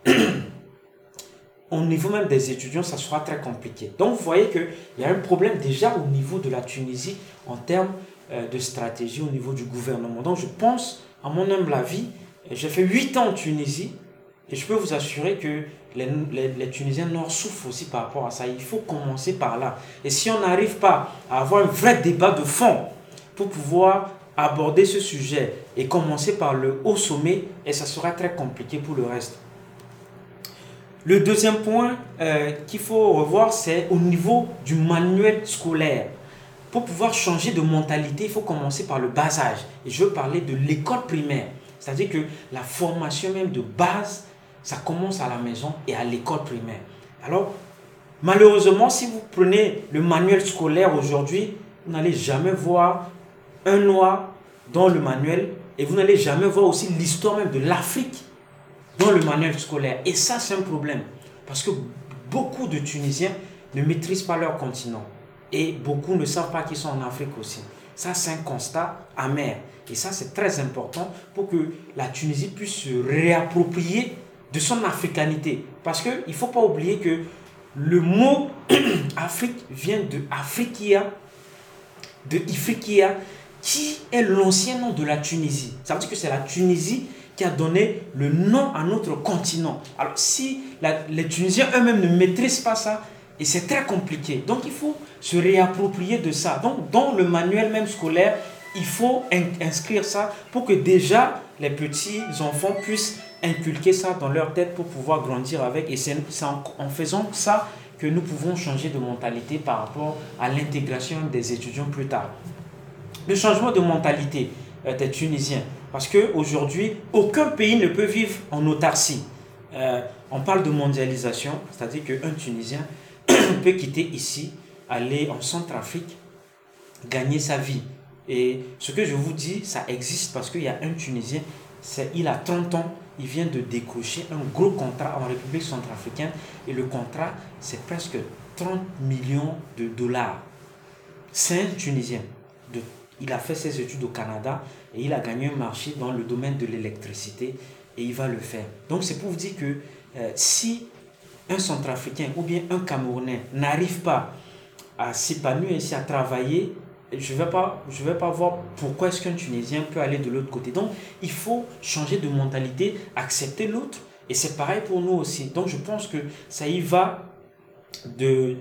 au niveau même des étudiants, ça sera très compliqué. Donc vous voyez qu'il y a un problème déjà au niveau de la Tunisie en termes de stratégie au niveau du gouvernement. Donc je pense, à mon humble avis, j'ai fait 8 ans en Tunisie et je peux vous assurer que les Tunisiens noirs souffrent aussi par rapport à ça. Il faut commencer par là. Et si on n'arrive pas à avoir un vrai débat de fond pour pouvoir aborder ce sujet et commencer par le haut sommet, et ça sera très compliqué pour le reste. Le deuxième point qu'il faut revoir, c'est au niveau du manuel scolaire. Pour pouvoir changer de mentalité, il faut commencer par le bas âge. Et je veux parler de l'école primaire. C'est-à-dire que la formation même de base, ça commence à la maison et à l'école primaire. Alors, malheureusement, si vous prenez le manuel scolaire aujourd'hui, vous n'allez jamais voir un noir dans le manuel et vous n'allez jamais voir aussi l'histoire même de l'Afrique dans le manuel scolaire. Et ça, c'est un problème. Parce que beaucoup de Tunisiens ne maîtrisent pas leur continent. Et beaucoup ne savent pas qu'ils sont en Afrique aussi. Ça, c'est un constat amer. Et ça, c'est très important pour que la Tunisie puisse se réapproprier de son africanité. Parce qu'il ne faut pas oublier que le mot Afrique vient de Afrikia, de Ifriqiya, qui est l'ancien nom de la Tunisie. Ça veut dire que c'est la Tunisie qui a donné le nom à notre continent. Alors, si les Tunisiens eux-mêmes ne maîtrisent pas ça, et c'est très compliqué. Donc, il faut se réapproprier de ça. Donc, dans le manuel même scolaire, il faut inscrire ça pour que déjà les petits enfants puissent inculquer ça dans leur tête pour pouvoir grandir avec. Et c'est en faisant ça que nous pouvons changer de mentalité par rapport à l'intégration des étudiants plus tard. Le changement de mentalité des Tunisiens. Parce qu'aujourd'hui, aucun pays ne peut vivre en autarcie. On parle de mondialisation, c'est-à-dire qu'un Tunisien peut quitter ici, aller en Centrafrique, gagner sa vie. Et ce que je vous dis, ça existe parce qu'il y a un Tunisien, il a 30 ans, il vient de décrocher un gros contrat en République centrafricaine et le contrat, c'est presque 30 millions de dollars. C'est un Tunisien. Il a fait ses études au Canada et il a gagné un marché dans le domaine de l'électricité et il va le faire. Donc c'est pour vous dire que si un Centrafricain ou bien un Camerounais n'arrive pas à s'épanouir ici, à travailler, je ne vais pas voir pourquoi est-ce qu'un Tunisien peut aller de l'autre côté. Donc il faut changer de mentalité, accepter l'autre et c'est pareil pour nous aussi. Donc je pense que ça y va des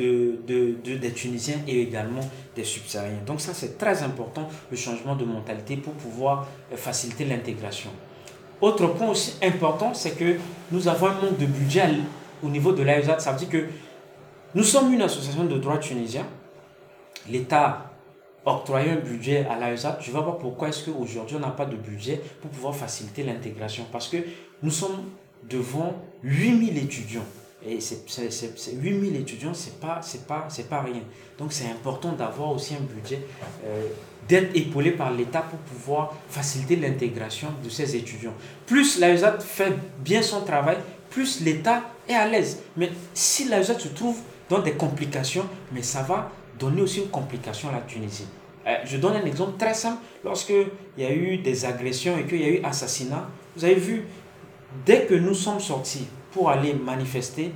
Tunisiens et également des subsahariens. Donc ça c'est très important, le changement de mentalité pour pouvoir faciliter l'intégration. Autre point aussi important, c'est que nous avons un manque de budget au niveau de l'AESAT. Ça veut dire que nous sommes une association de droit tunisien. L'État octroie un budget à l'AESAT. Je ne vois pas pourquoi est-ce qu'aujourd'hui on n'a pas de budget pour pouvoir faciliter l'intégration. Parce que nous sommes devant 8000 étudiants. Et 8000 étudiants, c'est pas rien. Donc c'est important d'avoir aussi un budget, d'être épaulé par l'État pour pouvoir faciliter l'intégration de ces étudiants. Plus l'AESAT fait bien son travail, plus l'État est à l'aise. Mais si l'AESAT se trouve dans des complications, mais ça va donner aussi une complication à la Tunisie. Je donne un exemple très simple. Lorsqu'il y a eu des agressions et qu'il y a eu assassinat, vous avez vu, dès que nous sommes sortis pour aller manifester,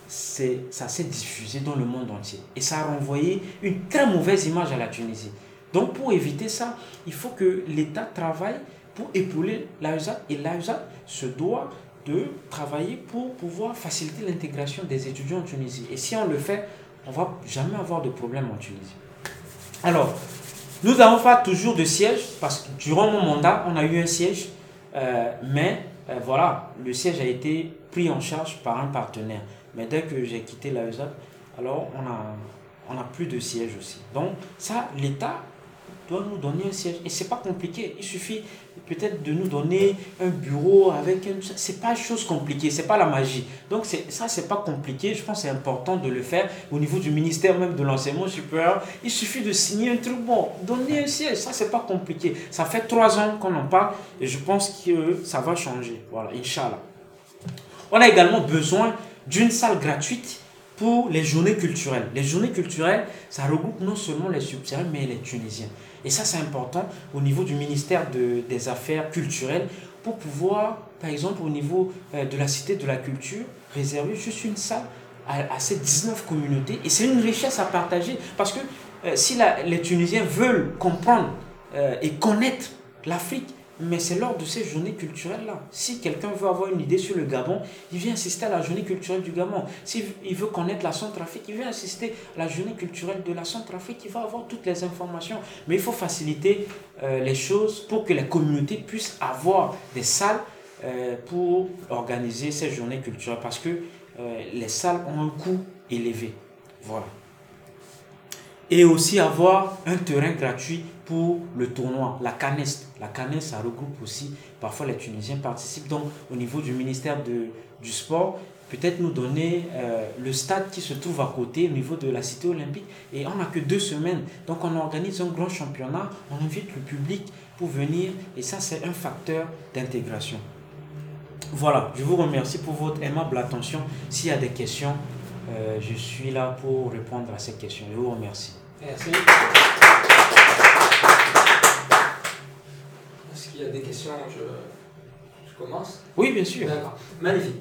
ça s'est diffusé dans le monde entier. Et ça a renvoyé une très mauvaise image à la Tunisie. Donc pour éviter ça, il faut que l'État travaille pour épauler l'AESAT. Et l'AESAT se doit de travailler pour pouvoir faciliter l'intégration des étudiants en Tunisie. Et si on le fait, on ne va jamais avoir de problème en Tunisie. Alors, nous n'avons pas toujours de siège, parce que durant mon mandat, on a eu un siège, mais voilà, le siège a été pris en charge par un partenaire. Mais dès que j'ai quitté l'AESAT, alors on a plus de siège aussi. Donc ça, l'État doit nous donner un siège. Et c'est pas compliqué. Il suffit peut-être de nous donner un bureau avec un... C'est pas une chose compliquée, c'est pas la magie. Donc ça, c'est pas compliqué. Je pense que c'est important de le faire au niveau du ministère même de l'enseignement supérieur. Il suffit de signer un truc bon, donner un siège. Ça, c'est pas compliqué. Ça fait 3 ans qu'on en parle et je pense que ça va changer. Voilà, Inch'Allah. On a également besoin d'une salle gratuite pour les journées culturelles. Les journées culturelles, ça regroupe non seulement les subsahariens, mais les Tunisiens. Et ça, c'est important au niveau du ministère des Affaires culturelles pour pouvoir, par exemple, au niveau de la Cité de la Culture, réserver juste une salle à ces 19 communautés. Et c'est une richesse à partager parce que si les Tunisiens veulent comprendre et connaître l'Afrique, mais c'est lors de ces journées culturelles-là. Si quelqu'un veut avoir une idée sur le Gabon, il vient assister à la journée culturelle du Gabon. S'il veut connaître la Centrafrique, il vient assister à la journée culturelle de la Centrafrique. Il va avoir toutes les informations. Mais il faut faciliter les choses pour que les communautés puissent avoir des salles pour organiser ces journées culturelles. Parce que les salles ont un coût élevé. Voilà. Et aussi avoir un terrain gratuit pour le tournoi, la CANES. La CANES, ça regroupe aussi, parfois les Tunisiens participent. Donc, au niveau du ministère du Sport, peut-être nous donner le stade qui se trouve à côté, au niveau de la cité olympique. Et on n'a que 2 semaines. Donc, on organise un grand championnat, on invite le public pour venir. Et ça, c'est un facteur d'intégration. Voilà, je vous remercie pour votre aimable attention. S'il y a des questions, je suis là pour répondre à ces questions. Je vous remercie. Merci. Est-ce qu'il y a des questions? Je commence? Oui, bien sûr. D'accord. Magnifique.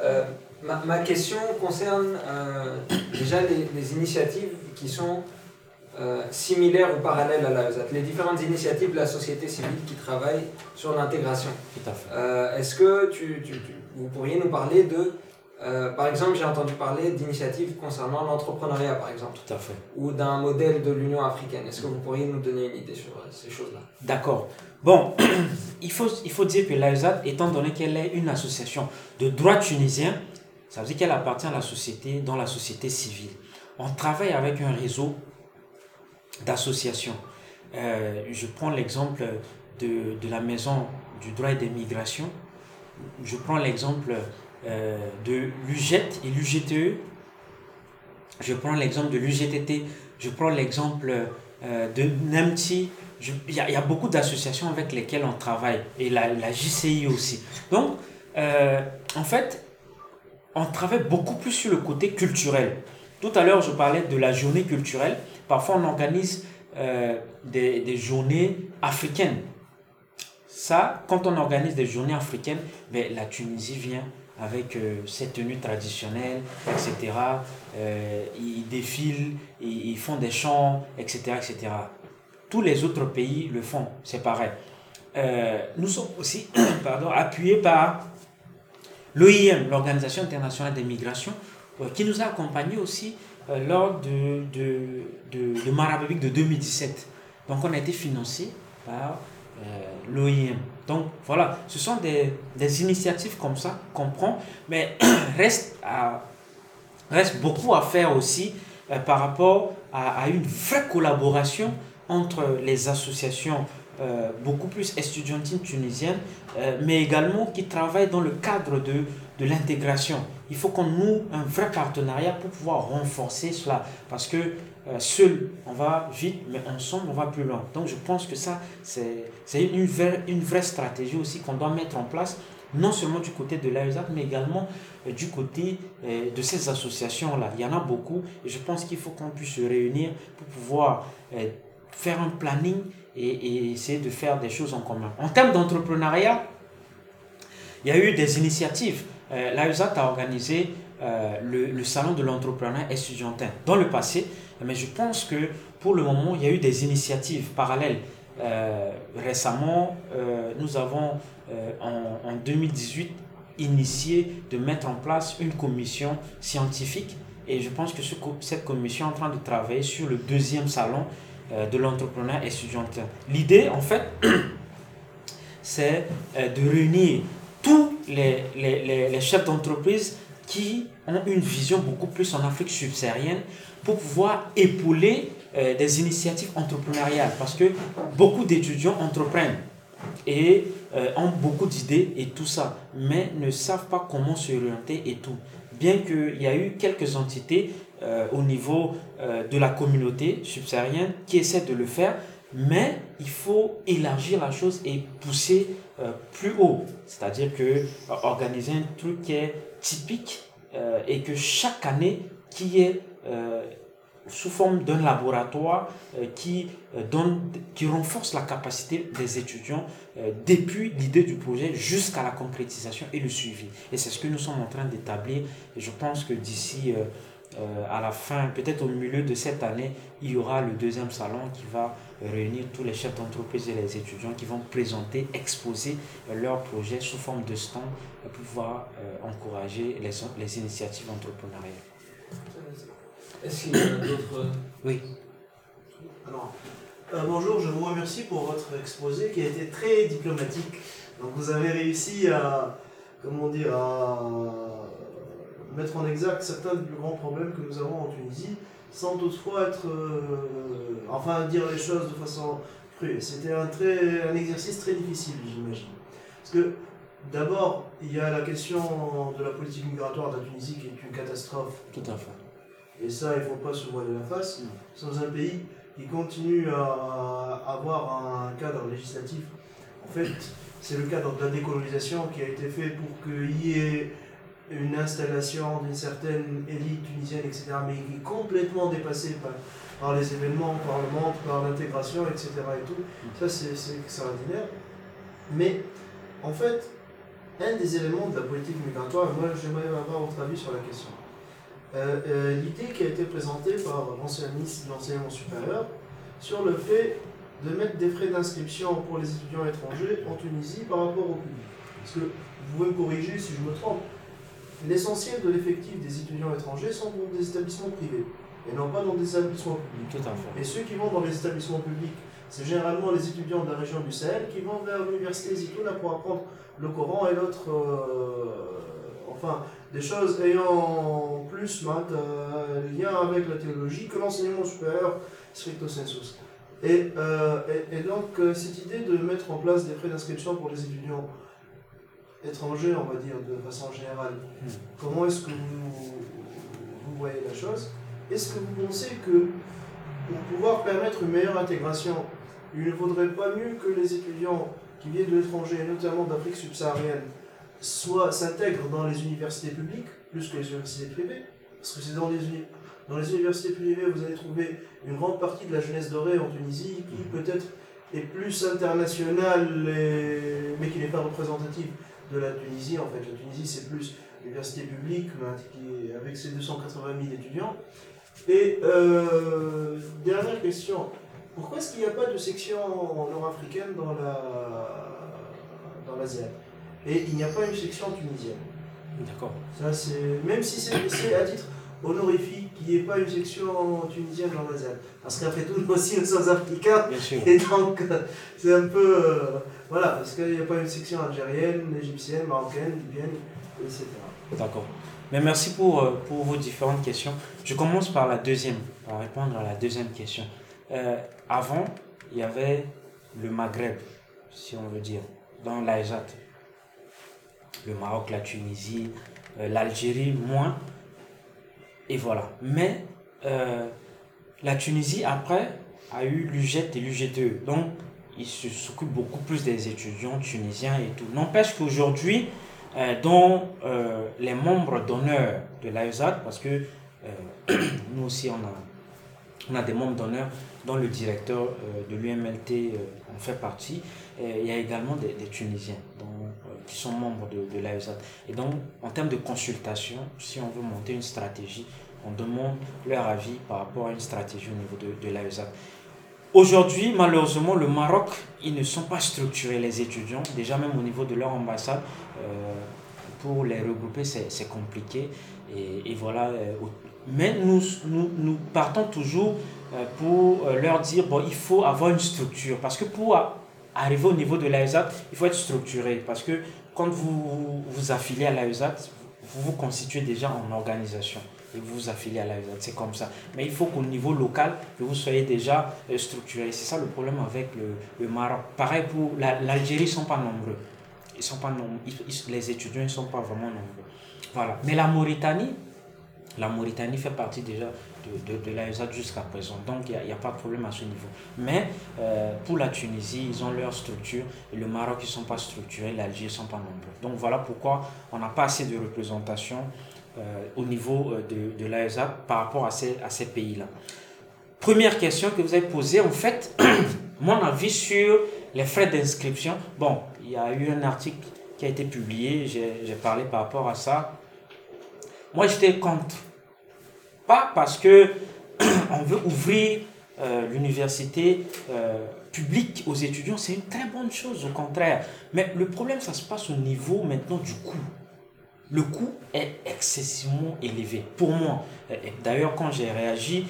Ma question concerne déjà les initiatives qui sont similaires ou parallèles à l'AESAT. Les différentes initiatives de la société civile qui travaillent sur l'intégration. Tout à fait. Est-ce que vous pourriez nous parler de... par exemple, j'ai entendu parler d'initiatives concernant l'entrepreneuriat, par exemple. Tout à fait. Ou d'un modèle de l'Union africaine. Est-ce que vous pourriez nous donner une idée sur ces choses-là? D'accord. Bon, il faut dire que l'AESAT, étant donné qu'elle est une association de droit tunisien, ça veut dire qu'elle appartient à la société, dans la société civile. On travaille avec un réseau d'associations. Je prends l'exemple de la Maison du droit et des migrations. Je prends l'exemple de l'UGET et l'UGTE. Je prends l'exemple de l'UGTT. Je prends l'exemple de NEMTI. Il y a beaucoup d'associations avec lesquelles on travaille. Et la JCI aussi. Donc, en fait, on travaille beaucoup plus sur le côté culturel. Tout à l'heure, je parlais de la journée culturelle. Parfois, on organise des journées africaines. Ça, quand on organise des journées africaines, ben, la Tunisie vient avec ses tenues traditionnelles, etc. Ils défilent, ils font des chants, etc., etc. Tous les autres pays le font, c'est pareil. Nous sommes aussi appuyés par l'OIM, l'Organisation internationale des migrations, qui nous a accompagnés aussi lors de Marabébik de 2017. Donc on a été financé par l'OIM. Donc voilà, ce sont des initiatives comme ça qu'on prend, mais reste beaucoup à faire aussi par rapport à une vraie collaboration entre les associations beaucoup plus estudiantines tunisiennes, mais également qui travaillent dans le cadre de l'intégration. Il faut qu'on noue un vrai partenariat pour pouvoir renforcer cela, parce que seul on va vite, mais ensemble on va plus loin. Donc je pense que ça c'est une vraie stratégie aussi qu'on doit mettre en place, non seulement du côté de l'AESAT, mais également du côté de ces associations-là. Il y en a beaucoup et je pense qu'il faut qu'on puisse se réunir pour pouvoir faire un planning et essayer de faire des choses en commun. En termes d'entrepreneuriat, il y a eu des initiatives. L'AESAT a organisé le salon de l'entrepreneuriat estudiantin dans le passé, mais je pense que pour le moment, il y a eu des initiatives parallèles. Récemment, nous avons en 2018 initié de mettre en place une commission scientifique et je pense que cette commission est en train de travailler sur le deuxième salon de l'entrepreneuriat estudiantin. L'idée, en fait, c'est de réunir tous les chefs d'entreprise qui ont une vision beaucoup plus en Afrique subsaharienne pour pouvoir épauler des initiatives entrepreneuriales parce que beaucoup d'étudiants entreprennent et ont beaucoup d'idées et tout ça, mais ne savent pas comment s'orienter et tout. Bien qu'il y a eu quelques entités au niveau de la communauté subsaharienne qui essaient de le faire, mais il faut élargir la chose et pousser plus haut. C'est-à-dire que organiser un truc qui est typique et que chaque année, qui est sous forme d'un laboratoire qui renforce la capacité des étudiants depuis l'idée du projet jusqu'à la concrétisation et le suivi. Et c'est ce que nous sommes en train d'établir. Et je pense que d'ici à la fin, peut-être au milieu de cette année, il y aura le deuxième salon qui va réunir tous les chefs d'entreprise et les étudiants qui vont présenter, exposer leurs projets sous forme de stand pour pouvoir encourager les initiatives entrepreneuriales. Est-ce qu'il y a d'autres... Oui. Alors, bonjour, je vous remercie pour votre exposé qui a été très diplomatique. Donc vous avez réussi à, comment dire, à mettre en exergue certains des plus grands problèmes que nous avons en Tunisie, sans toutefois être, enfin dire les choses de façon crue. C'était un exercice très difficile, j'imagine. Parce que d'abord, il y a la question de la politique migratoire de la Tunisie qui est une catastrophe. Tout à fait. Et ça, il ne faut pas se voiler la face. Nous sommes un pays qui continue à avoir un cadre législatif. En fait, c'est le cadre de la décolonisation qui a été fait pour qu'il y ait une installation d'une certaine élite tunisienne, etc., mais qui est complètement dépassée par les événements, par le monde, par l'intégration, etc. et tout. Ça, c'est extraordinaire. Mais, en fait, un des éléments de la politique migratoire, moi, j'aimerais avoir votre avis sur la question. L'idée qui a été présentée par l'ancien ministre de l'enseignement supérieur sur le fait de mettre des frais d'inscription pour les étudiants étrangers en Tunisie par rapport au public. Parce que, vous pouvez me corriger si je me trompe, l'essentiel de l'effectif des étudiants étrangers sont dans des établissements privés et non pas dans des établissements publics. Tout à fait. Et ceux qui vont dans les établissements publics, c'est généralement les étudiants de la région du Sahel qui vont vers l'université Zitouna pour apprendre le Coran et l'autre, enfin, des choses ayant plus lien avec la théologie que l'enseignement supérieur stricto sensu. Et donc, cette idée de mettre en place des frais d'inscription pour les étudiants étrangers, on va dire, de façon générale, comment est-ce que vous voyez la chose? Est-ce que vous pensez que pour pouvoir permettre une meilleure intégration, il ne vaudrait pas mieux que les étudiants qui viennent de l'étranger, notamment d'Afrique subsaharienne, s'intègrent dans les universités publiques plus que les universités privées? Parce que c'est dans les universités privées, vous allez trouver une grande partie de la jeunesse dorée en Tunisie qui peut-être est plus internationale, mais qui n'est pas représentative de la Tunisie. En fait, la Tunisie, c'est plus l'université publique avec ses 280 000 étudiants. Et dernière question, pourquoi est-ce qu'il n'y a pas de section nord-africaine dans l'Asiat? Et il n'y a pas une section tunisienne. D'accord. Ça, même si c'est à titre honorifique qu'il n'y ait pas une section tunisienne dans l'Asiat. Parce qu'après tout, nous aussi, nous sommes africains. Bien sûr. Et donc, c'est un peu... voilà, parce qu'il n'y a pas une section algérienne, égyptienne, marocaine, libyenne, etc. D'accord. Mais merci pour vos différentes questions. Je commence par la deuxième, par répondre à la deuxième question. Avant, il y avait le Maghreb, si on veut dire, dans l'Aïsat. Le Maroc, la Tunisie, l'Algérie, moins. Et voilà. Mais la Tunisie, après, a eu l'UGET et l'UGTE. Donc, ils s'occupent beaucoup plus des étudiants tunisiens et tout. N'empêche qu'aujourd'hui, dont les membres d'honneur de l'AESAT, parce que nous aussi on a des membres d'honneur dont le directeur de l'UMLT en fait partie, il y a également des Tunisiens, dont qui sont membres de l'AESAT. Et donc, en termes de consultation, si on veut monter une stratégie, on demande leur avis par rapport à une stratégie au niveau de l'AESAT. Aujourd'hui, malheureusement, le Maroc, ils ne sont pas structurés, les étudiants, déjà même au niveau de leur ambassade. Pour les regrouper, c'est compliqué. Et voilà. Mais nous partons toujours pour leur dire, bon, il faut avoir une structure. Parce que pour arriver au niveau de l'AESAT, il faut être structuré. Parce que quand vous vous affiliez à l'AESAT, vous vous constituez déjà en organisation. Et vous vous affiliez à l'AESAT, c'est comme ça. Mais il faut qu'au niveau local, vous soyez déjà structuré. C'est ça le problème avec le Maroc. Pareil pour l'Algérie, ils ne sont pas nombreux. Ils sont pas nombreux. Les étudiants ne sont pas vraiment nombreux. Voilà. Mais la Mauritanie fait partie déjà de l'AESAT jusqu'à présent. Donc, il n'y a pas de problème à ce niveau. Mais pour la Tunisie, ils ont leur structure. Et le Maroc, ils ne sont pas structurés. L'Algérie, ils ne sont pas nombreux. Donc, voilà pourquoi on n'a pas assez de représentation au niveau de l'AESAT par rapport à ces pays-là. Première question que vous avez posée, en fait, mon avis sur les frais d'inscription. Bon, il y a eu un article qui a été publié, j'ai parlé par rapport à ça. Moi, j'étais contre. Pas parce que on veut ouvrir l'université publique aux étudiants, c'est une très bonne chose, au contraire. Mais le problème, ça se passe au niveau maintenant du coût. Le coût est excessivement élevé pour moi. D'ailleurs, quand j'ai réagi,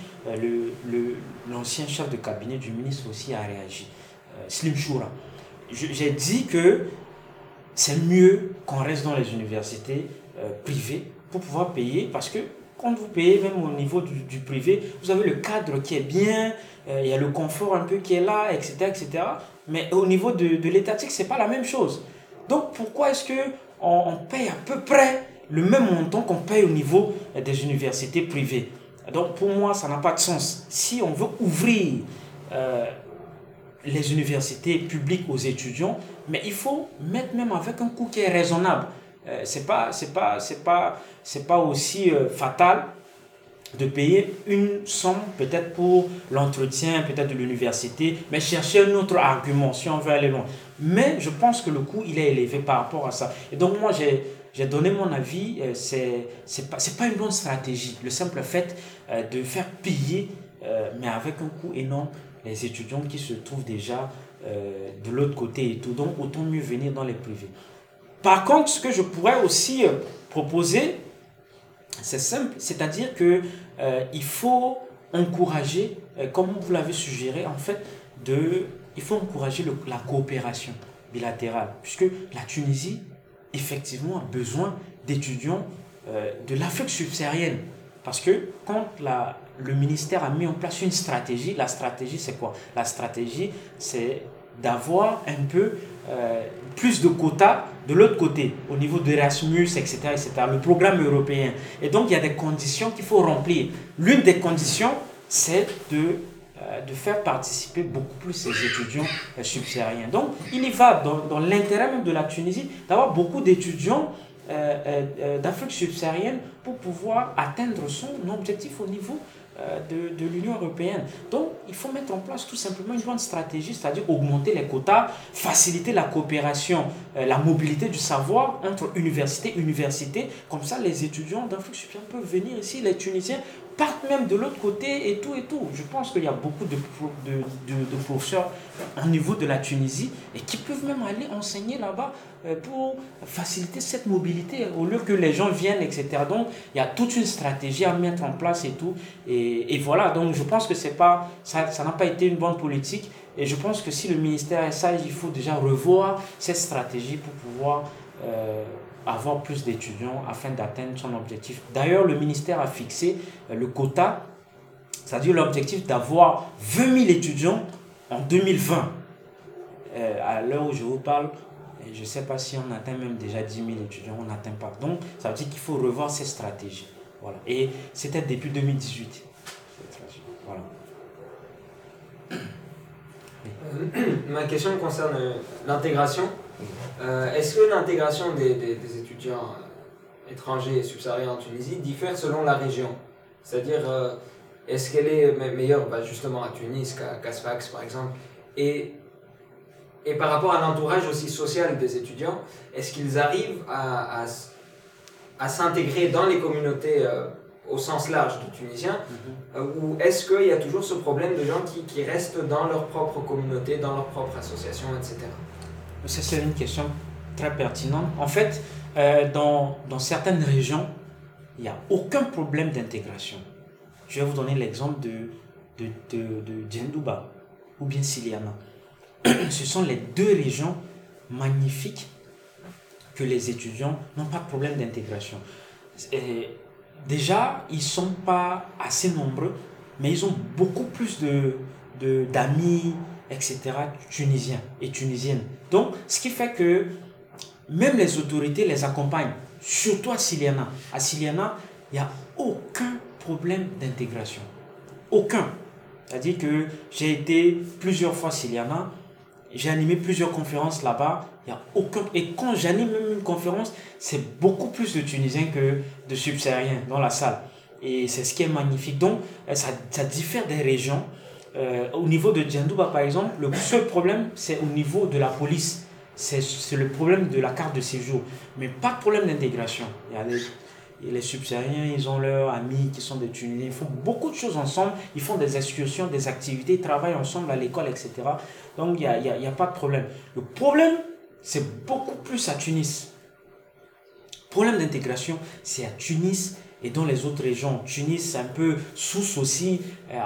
l'ancien chef de cabinet du ministre aussi a réagi, Slim Choura. J'ai dit que c'est mieux qu'on reste dans les universités privées pour pouvoir payer, parce que quand vous payez même au niveau du privé, vous avez le cadre qui est bien, il y a le confort un peu qui est là, etc. etc. Mais au niveau de l'étatique, ce n'est pas la même chose. Donc pourquoi est-ce qu'on paye à peu près le même montant qu'on paye au niveau des universités privées? Donc pour moi, ça n'a pas de sens. Si on veut ouvrir les universités publiques aux étudiants, mais il faut mettre même avec un coût qui est raisonnable. C'est pas aussi fatal de payer une somme peut-être pour l'entretien peut-être de l'université, mais chercher un autre argument si on veut aller loin. Mais je pense que le coût il est élevé par rapport à ça. Et donc moi j'ai donné mon avis, c'est pas une bonne stratégie. Le simple fait de faire payer, mais avec un coût énorme, les étudiants qui se trouvent déjà de l'autre côté et tout. Donc autant mieux venir dans les privés. Par contre, ce que je pourrais aussi proposer, c'est simple, c'est-à-dire que il faut encourager, comme vous l'avez suggéré, en fait, il faut encourager la coopération bilatérale, puisque la Tunisie, effectivement, a besoin d'étudiants de l'Afrique subsaharienne. Parce que quand le ministère a mis en place une stratégie, la stratégie c'est quoi? La stratégie c'est d'avoir un peu plus de quotas de l'autre côté, au niveau d'Erasmus, etc., etc., le programme européen. Et donc, il y a des conditions qu'il faut remplir. L'une des conditions, c'est de faire participer beaucoup plus ces étudiants subsahariens. Donc, il y va dans l'intérêt même de la Tunisie d'avoir beaucoup d'étudiants d'Afrique subsaharienne pour pouvoir atteindre son objectif au niveau de l'Union européenne. Donc, il faut mettre en place tout simplement une bonne stratégie, c'est-à-dire augmenter les quotas, faciliter la coopération, la mobilité du savoir entre université et université. Comme ça, les étudiants d'Afrique subsaharienne peuvent venir ici, les Tunisiens partent même de l'autre côté et tout et tout. Je pense qu'il y a beaucoup de professeurs au niveau de la Tunisie et qui peuvent même aller enseigner là-bas pour faciliter cette mobilité au lieu que les gens viennent, etc. Donc, il y a toute une stratégie à mettre en place et tout. Et voilà, donc je pense que ça n'a pas été une bonne politique. Et je pense que si le ministère est sage, il faut déjà revoir cette stratégie pour pouvoir avoir plus d'étudiants afin d'atteindre son objectif. D'ailleurs, le ministère a fixé le quota, c'est-à-dire l'objectif d'avoir 20 000 étudiants en 2020. À l'heure où je vous parle, je ne sais pas si on atteint même déjà 10 000 étudiants, on n'atteint pas. Donc, ça veut dire qu'il faut revoir ces stratégies. Voilà. Et c'était depuis 2018. Voilà. Ma question concerne l'intégration. Est-ce que l'intégration des étudiants étrangers et subsahariens en Tunisie diffère selon la région? C'est-à-dire, est-ce qu'elle est meilleure justement à Tunis qu'à Sfax par exemple? Et et par rapport à l'entourage aussi social des étudiants, est-ce qu'ils arrivent à s'intégrer dans les communautés au sens large de Tunisiens, ou est-ce qu'il y a toujours ce problème de gens qui restent dans leur propre communauté, dans leur propre association, etc. Ça, c'est une question très pertinente. En fait, dans certaines régions, il n'y a aucun problème d'intégration. Je vais vous donner l'exemple de Djendouba ou bien Siliana. Ce sont les deux régions magnifiques que les étudiants n'ont pas de problème d'intégration. Déjà, ils ne sont pas assez nombreux, mais ils ont beaucoup plus d'amis, etc., tunisiens et tunisiennes. Donc, ce qui fait que même les autorités les accompagnent, surtout à Siliana. À Siliana, il n'y a aucun problème d'intégration. Aucun. C'est-à-dire que j'ai été plusieurs fois à Siliana, j'ai animé plusieurs conférences là-bas, il n'y a aucun... Et quand j'anime même une conférence, c'est beaucoup plus de Tunisiens que de subsahariens dans la salle. Et c'est ce qui est magnifique. Donc, ça diffère des régions. Au niveau de Djendouba, par exemple, le seul problème, c'est au niveau de la police. C'est le problème de la carte de séjour. Mais pas de problème d'intégration. Les subsahariens, ils ont leurs amis qui sont des Tunisiens. Ils font beaucoup de choses ensemble. Ils font des excursions, des activités, ils travaillent ensemble à l'école, etc. Donc, il n'y a pas de problème. Le problème, c'est beaucoup plus à Tunis. Le problème d'intégration, c'est à Tunis et dans les autres régions. Tunis, c'est un peu Sousse aussi,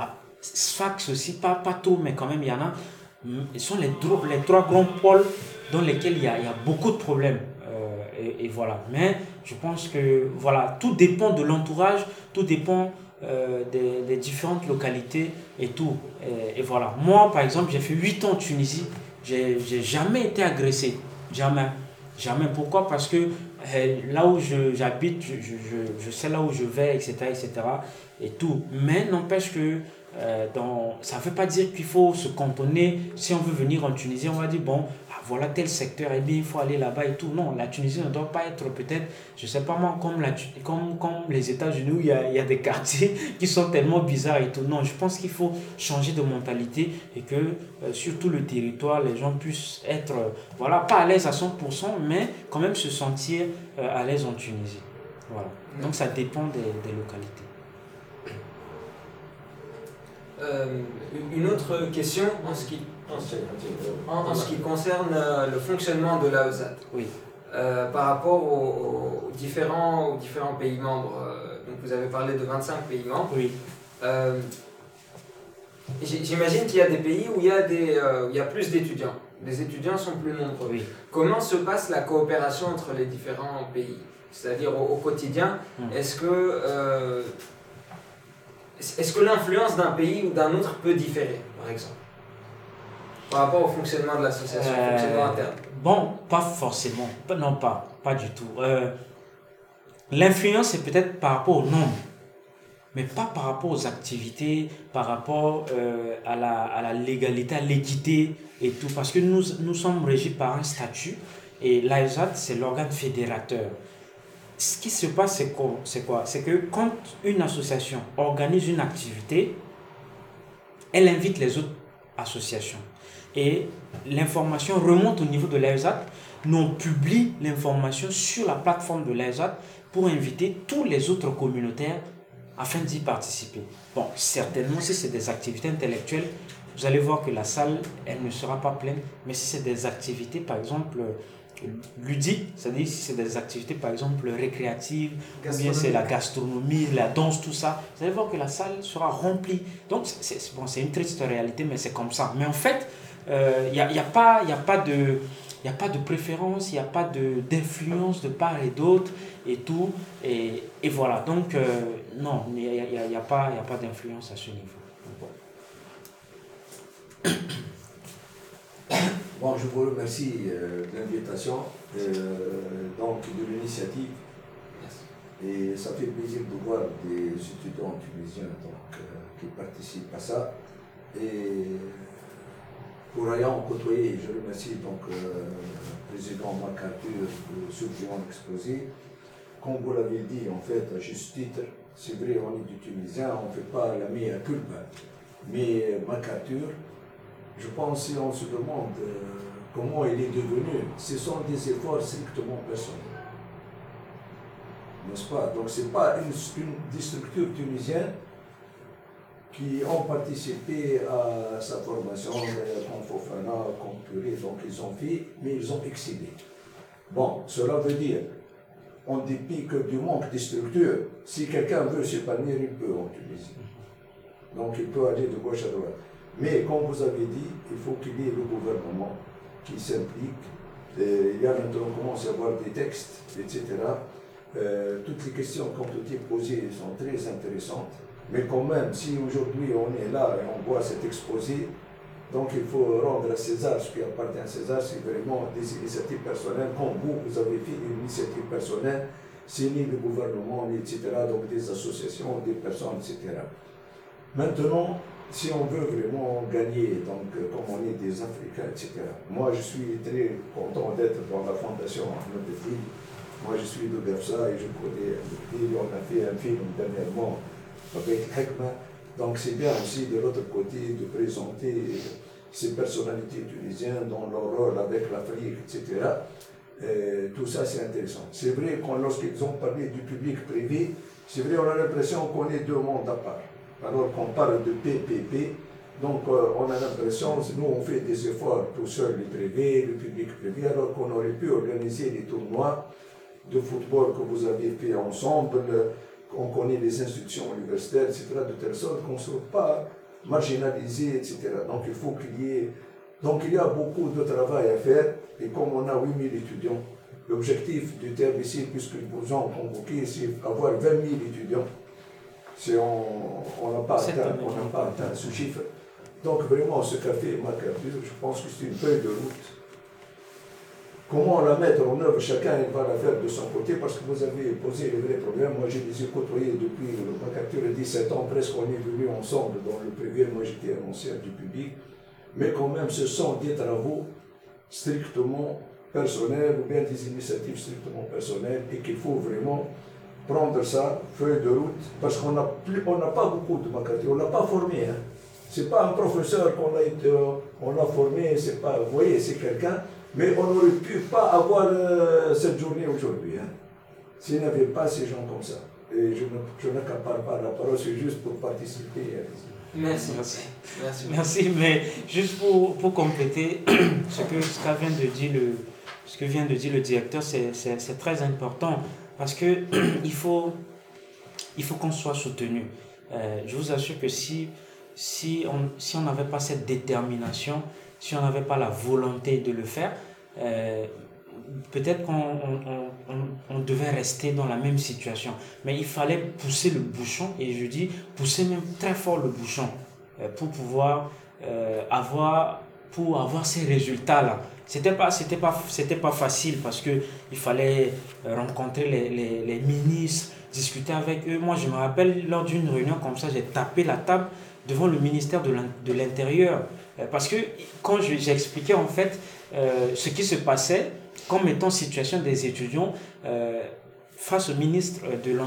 Sfax aussi, pas tout, mais quand même, il y en a. Ce sont les trois grands pôles dans lesquels il y a beaucoup de problèmes. Et voilà. Mais je pense que voilà, tout dépend de l'entourage, tout dépend des différentes localités et tout. Et voilà. Moi, par exemple, j'ai fait 8 ans en Tunisie. J'ai jamais été agressé. Jamais. Jamais. Pourquoi? Parce que là où j'habite, je sais là où je vais, etc., etc. et tout. Mais n'empêche que ça ne veut pas dire qu'il faut se cantonner. Si on veut venir en Tunisie, on va dire bon, voilà tel secteur, et bien il faut aller là-bas et tout. Non, la Tunisie ne doit pas être peut-être, je ne sais pas moi, comme les États-Unis où il y a des quartiers qui sont tellement bizarres et tout. Non, je pense qu'il faut changer de mentalité et que sur tout le territoire, les gens puissent être, voilà, pas à l'aise à 100%, mais quand même se sentir à l'aise en Tunisie. Voilà. Donc ça dépend des localités. Une autre question en ce qui concerne le fonctionnement de l'AESAT. Oui. Par rapport aux différents pays membres. Donc vous avez parlé de 25 pays membres. Oui. J'imagine qu'il y a des pays où il y a plus d'étudiants. Les étudiants sont plus nombreux. Oui. Comment se passe la coopération entre les différents pays? C'est-à-dire au quotidien, est-ce que l'influence d'un pays ou d'un autre peut différer, par exemple, par rapport au fonctionnement de l'association, au fonctionnement interne? Bon, pas forcément. Non, pas du tout. L'influence, c'est peut-être par rapport au nombre, mais pas par rapport aux activités, par rapport à la légalité, à l'équité et tout. Parce que nous sommes régis par un statut et l'AESAT, c'est l'organe fédérateur. Ce qui se passe, c'est quoi? C'est que quand une association organise une activité, elle invite les autres associations. Et l'information remonte au niveau de l'AESAT. Nous, on publie l'information sur la plateforme de l'AESAT pour inviter tous les autres communautaires afin d'y participer. Bon, certainement, si c'est des activités intellectuelles, vous allez voir que la salle, elle ne sera pas pleine. Mais si c'est des activités, par exemple, ludiques, c'est-à-dire si c'est des activités par exemple récréatives, ou bien c'est la gastronomie, la danse, tout ça, vous allez voir que la salle sera remplie. Donc c'est une triste réalité, mais c'est comme ça. Mais en fait, il n'y a pas de préférence, il n'y a pas d'influence de part et d'autre et tout. Et voilà, donc non, il n'y a pas d'influence à ce niveau. Bon, je vous remercie de l'invitation, donc de l'initiative. Et ça fait plaisir de voir des étudiants tunisiens qui participent à ça. Et pour ayant côtoyé, je remercie donc le président MacArthur de ce qu'ils ont exposé. Comme vous l'avez dit, en fait, à juste titre, c'est vrai, on est du Tunisien, on ne fait pas la mea culpa. Mais MacArthur, je pense si on se demande comment il est devenu, ce sont des efforts strictement personnels. N'est-ce pas? Donc ce n'est pas des structures tunisiennes qui ont participé à sa formation, comme Fofana, comme Puré, donc ils ont fait, mais ils ont excellé. Bon, cela veut dire, en dépit que du manque de structures, si quelqu'un veut s'épanouir, il peut en Tunisie. Donc il peut aller de gauche à droite. Mais comme vous avez dit, il faut qu'il y ait le gouvernement qui s'implique. Il y a maintenant, on commence à avoir des textes, etc. Toutes les questions qui ont été posées sont très intéressantes. Mais quand même, si aujourd'hui on est là et on voit cet exposé, donc il faut rendre à César ce qui appartient à César, c'est vraiment des initiatives personnelles. Comme vous avez fait une initiative personnelle, signé le gouvernement, etc., donc des associations, des personnes, etc. Maintenant, si on veut vraiment gagner, donc comme on est des Africains, etc., moi je suis très content d'être dans la fondation Ahmed Fil. Moi je suis de Gafsa et je connais Fil. On a fait un film dernièrement avec Hekma. Donc c'est bien aussi de l'autre côté de présenter ces personnalités tunisiennes dans leur rôle avec l'Afrique, etc. Tout ça c'est intéressant. C'est vrai que lorsqu'ils ont parlé du public-privé, c'est vrai on a l'impression qu'on est deux mondes à part. Alors qu'on parle de PPP, donc on a l'impression, nous on fait des efforts tout seul, les privés, le public privé, alors qu'on aurait pu organiser des tournois de football que vous avez fait ensemble, on connaît les institutions universitaires, etc., de telle sorte qu'on ne soit pas marginalisé, etc. Donc il faut qu'il y ait... Donc il y a beaucoup de travail à faire, et comme on a 8000 étudiants, l'objectif du terme ici, puisqu'ils vous ont convoqué, c'est avoir 20 000 étudiants. Si on n'a pas atteint ce chiffre. Donc vraiment, ce qu'a fait Macapur, je pense que c'est une feuille de route. Comment la mettre en œuvre, chacun va la faire de son côté, parce que vous avez posé les vrais problèmes. Moi, je les ai côtoyés depuis Macapur à 17 ans, presque on est venus ensemble dans le privé. Moi, j'étais annonceur du public. Mais quand même, ce sont des travaux strictement personnels, ou bien des initiatives strictement personnelles, et qu'il faut vraiment prendre ça, feuille de route, parce qu'on n'a pas beaucoup de Macapur, on ne l'a pas formé. Hein. Ce n'est pas un professeur on l'a formé, c'est pas, vous voyez, c'est quelqu'un, mais on n'aurait pu pas avoir cette journée aujourd'hui, hein, s'il n'y avait pas ces gens comme ça. Et je n'accapare pas la parole, c'est juste pour participer. Merci. Mais juste pour compléter ce que vient de dire le directeur, c'est très important. Parce que il faut qu'on soit soutenu. Je vous assure que si on n'avait pas cette détermination, si on n'avait pas la volonté de le faire, peut-être qu'on devait rester dans la même situation. Mais il fallait pousser le bouchon, et je dis pousser même très fort le bouchon, pour pouvoir avoir ces résultats-là. C'était pas facile, parce que il fallait rencontrer les ministres, discuter avec eux. Moi, je me rappelle, lors d'une réunion comme ça, j'ai tapé la table devant le ministère de l'Intérieur, parce que quand j'expliquais en fait ce qui se passait comme étant situation des étudiants face au ministre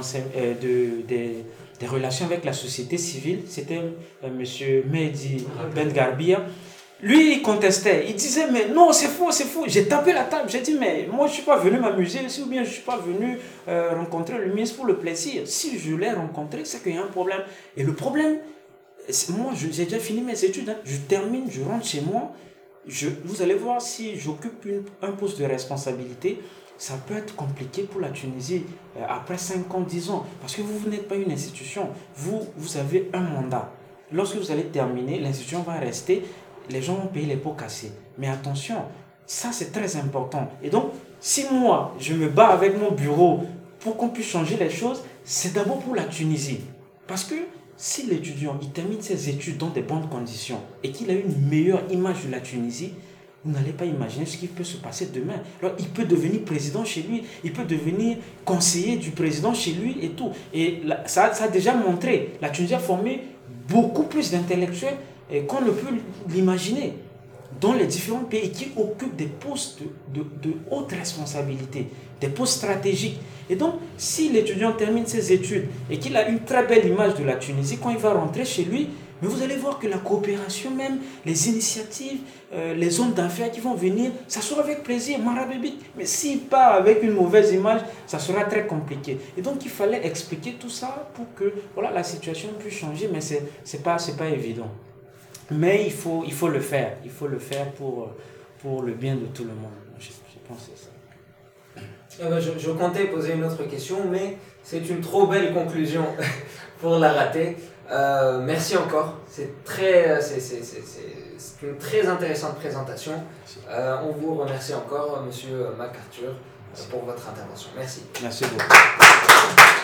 des relations avec la société civile, c'était monsieur Mehdi Ben Garbia. Lui, il contestait, il disait, mais non, c'est faux. J'ai tapé la table, j'ai dit, mais moi, je ne suis pas venu m'amuser ici, ou bien je ne suis pas venu rencontrer le ministre pour le plaisir. Si je l'ai rencontré, c'est qu'il y a un problème. Et le problème, moi, j'ai déjà fini mes études, hein. Je termine, je rentre chez moi, vous allez voir, si j'occupe un poste de responsabilité, ça peut être compliqué pour la Tunisie après 5 ans, 10 ans, parce que vous n'êtes pas une institution, vous avez un mandat. Lorsque vous allez terminer, l'institution va rester. Les gens vont payer les pots cassés. Mais attention, ça c'est très important. Et donc, si moi, je me bats avec mon bureau pour qu'on puisse changer les choses, c'est d'abord pour la Tunisie. Parce que si l'étudiant il termine ses études dans des bonnes conditions et qu'il a une meilleure image de la Tunisie, vous n'allez pas imaginer ce qui peut se passer demain. Alors, il peut devenir président chez lui, il peut devenir conseiller du président chez lui et tout. Et ça a déjà montré, la Tunisie a formé beaucoup plus d'intellectuels qu'on ne peut l'imaginer dans les différents pays qui occupent des postes de haute responsabilité, des postes stratégiques. Et donc, si l'étudiant termine ses études et qu'il a une très belle image de la Tunisie, quand il va rentrer chez lui, Mais vous allez voir que la coopération même, les initiatives, les hommes d'affaires qui vont venir, ça sera avec plaisir, marabébite. Mais s'il part avec une mauvaise image, ça sera très compliqué. Et donc il fallait expliquer tout ça pour que voilà, la situation puisse changer, mais c'est pas évident. Mais il faut le faire. Il faut le faire pour le bien de tout le monde. Je pense que c'est ça. Je comptais poser une autre question, mais c'est une trop belle conclusion pour la rater. Merci encore. C'est une très intéressante présentation. On vous remercie encore, Monsieur MacArthur, pour votre intervention. Merci. Merci beaucoup.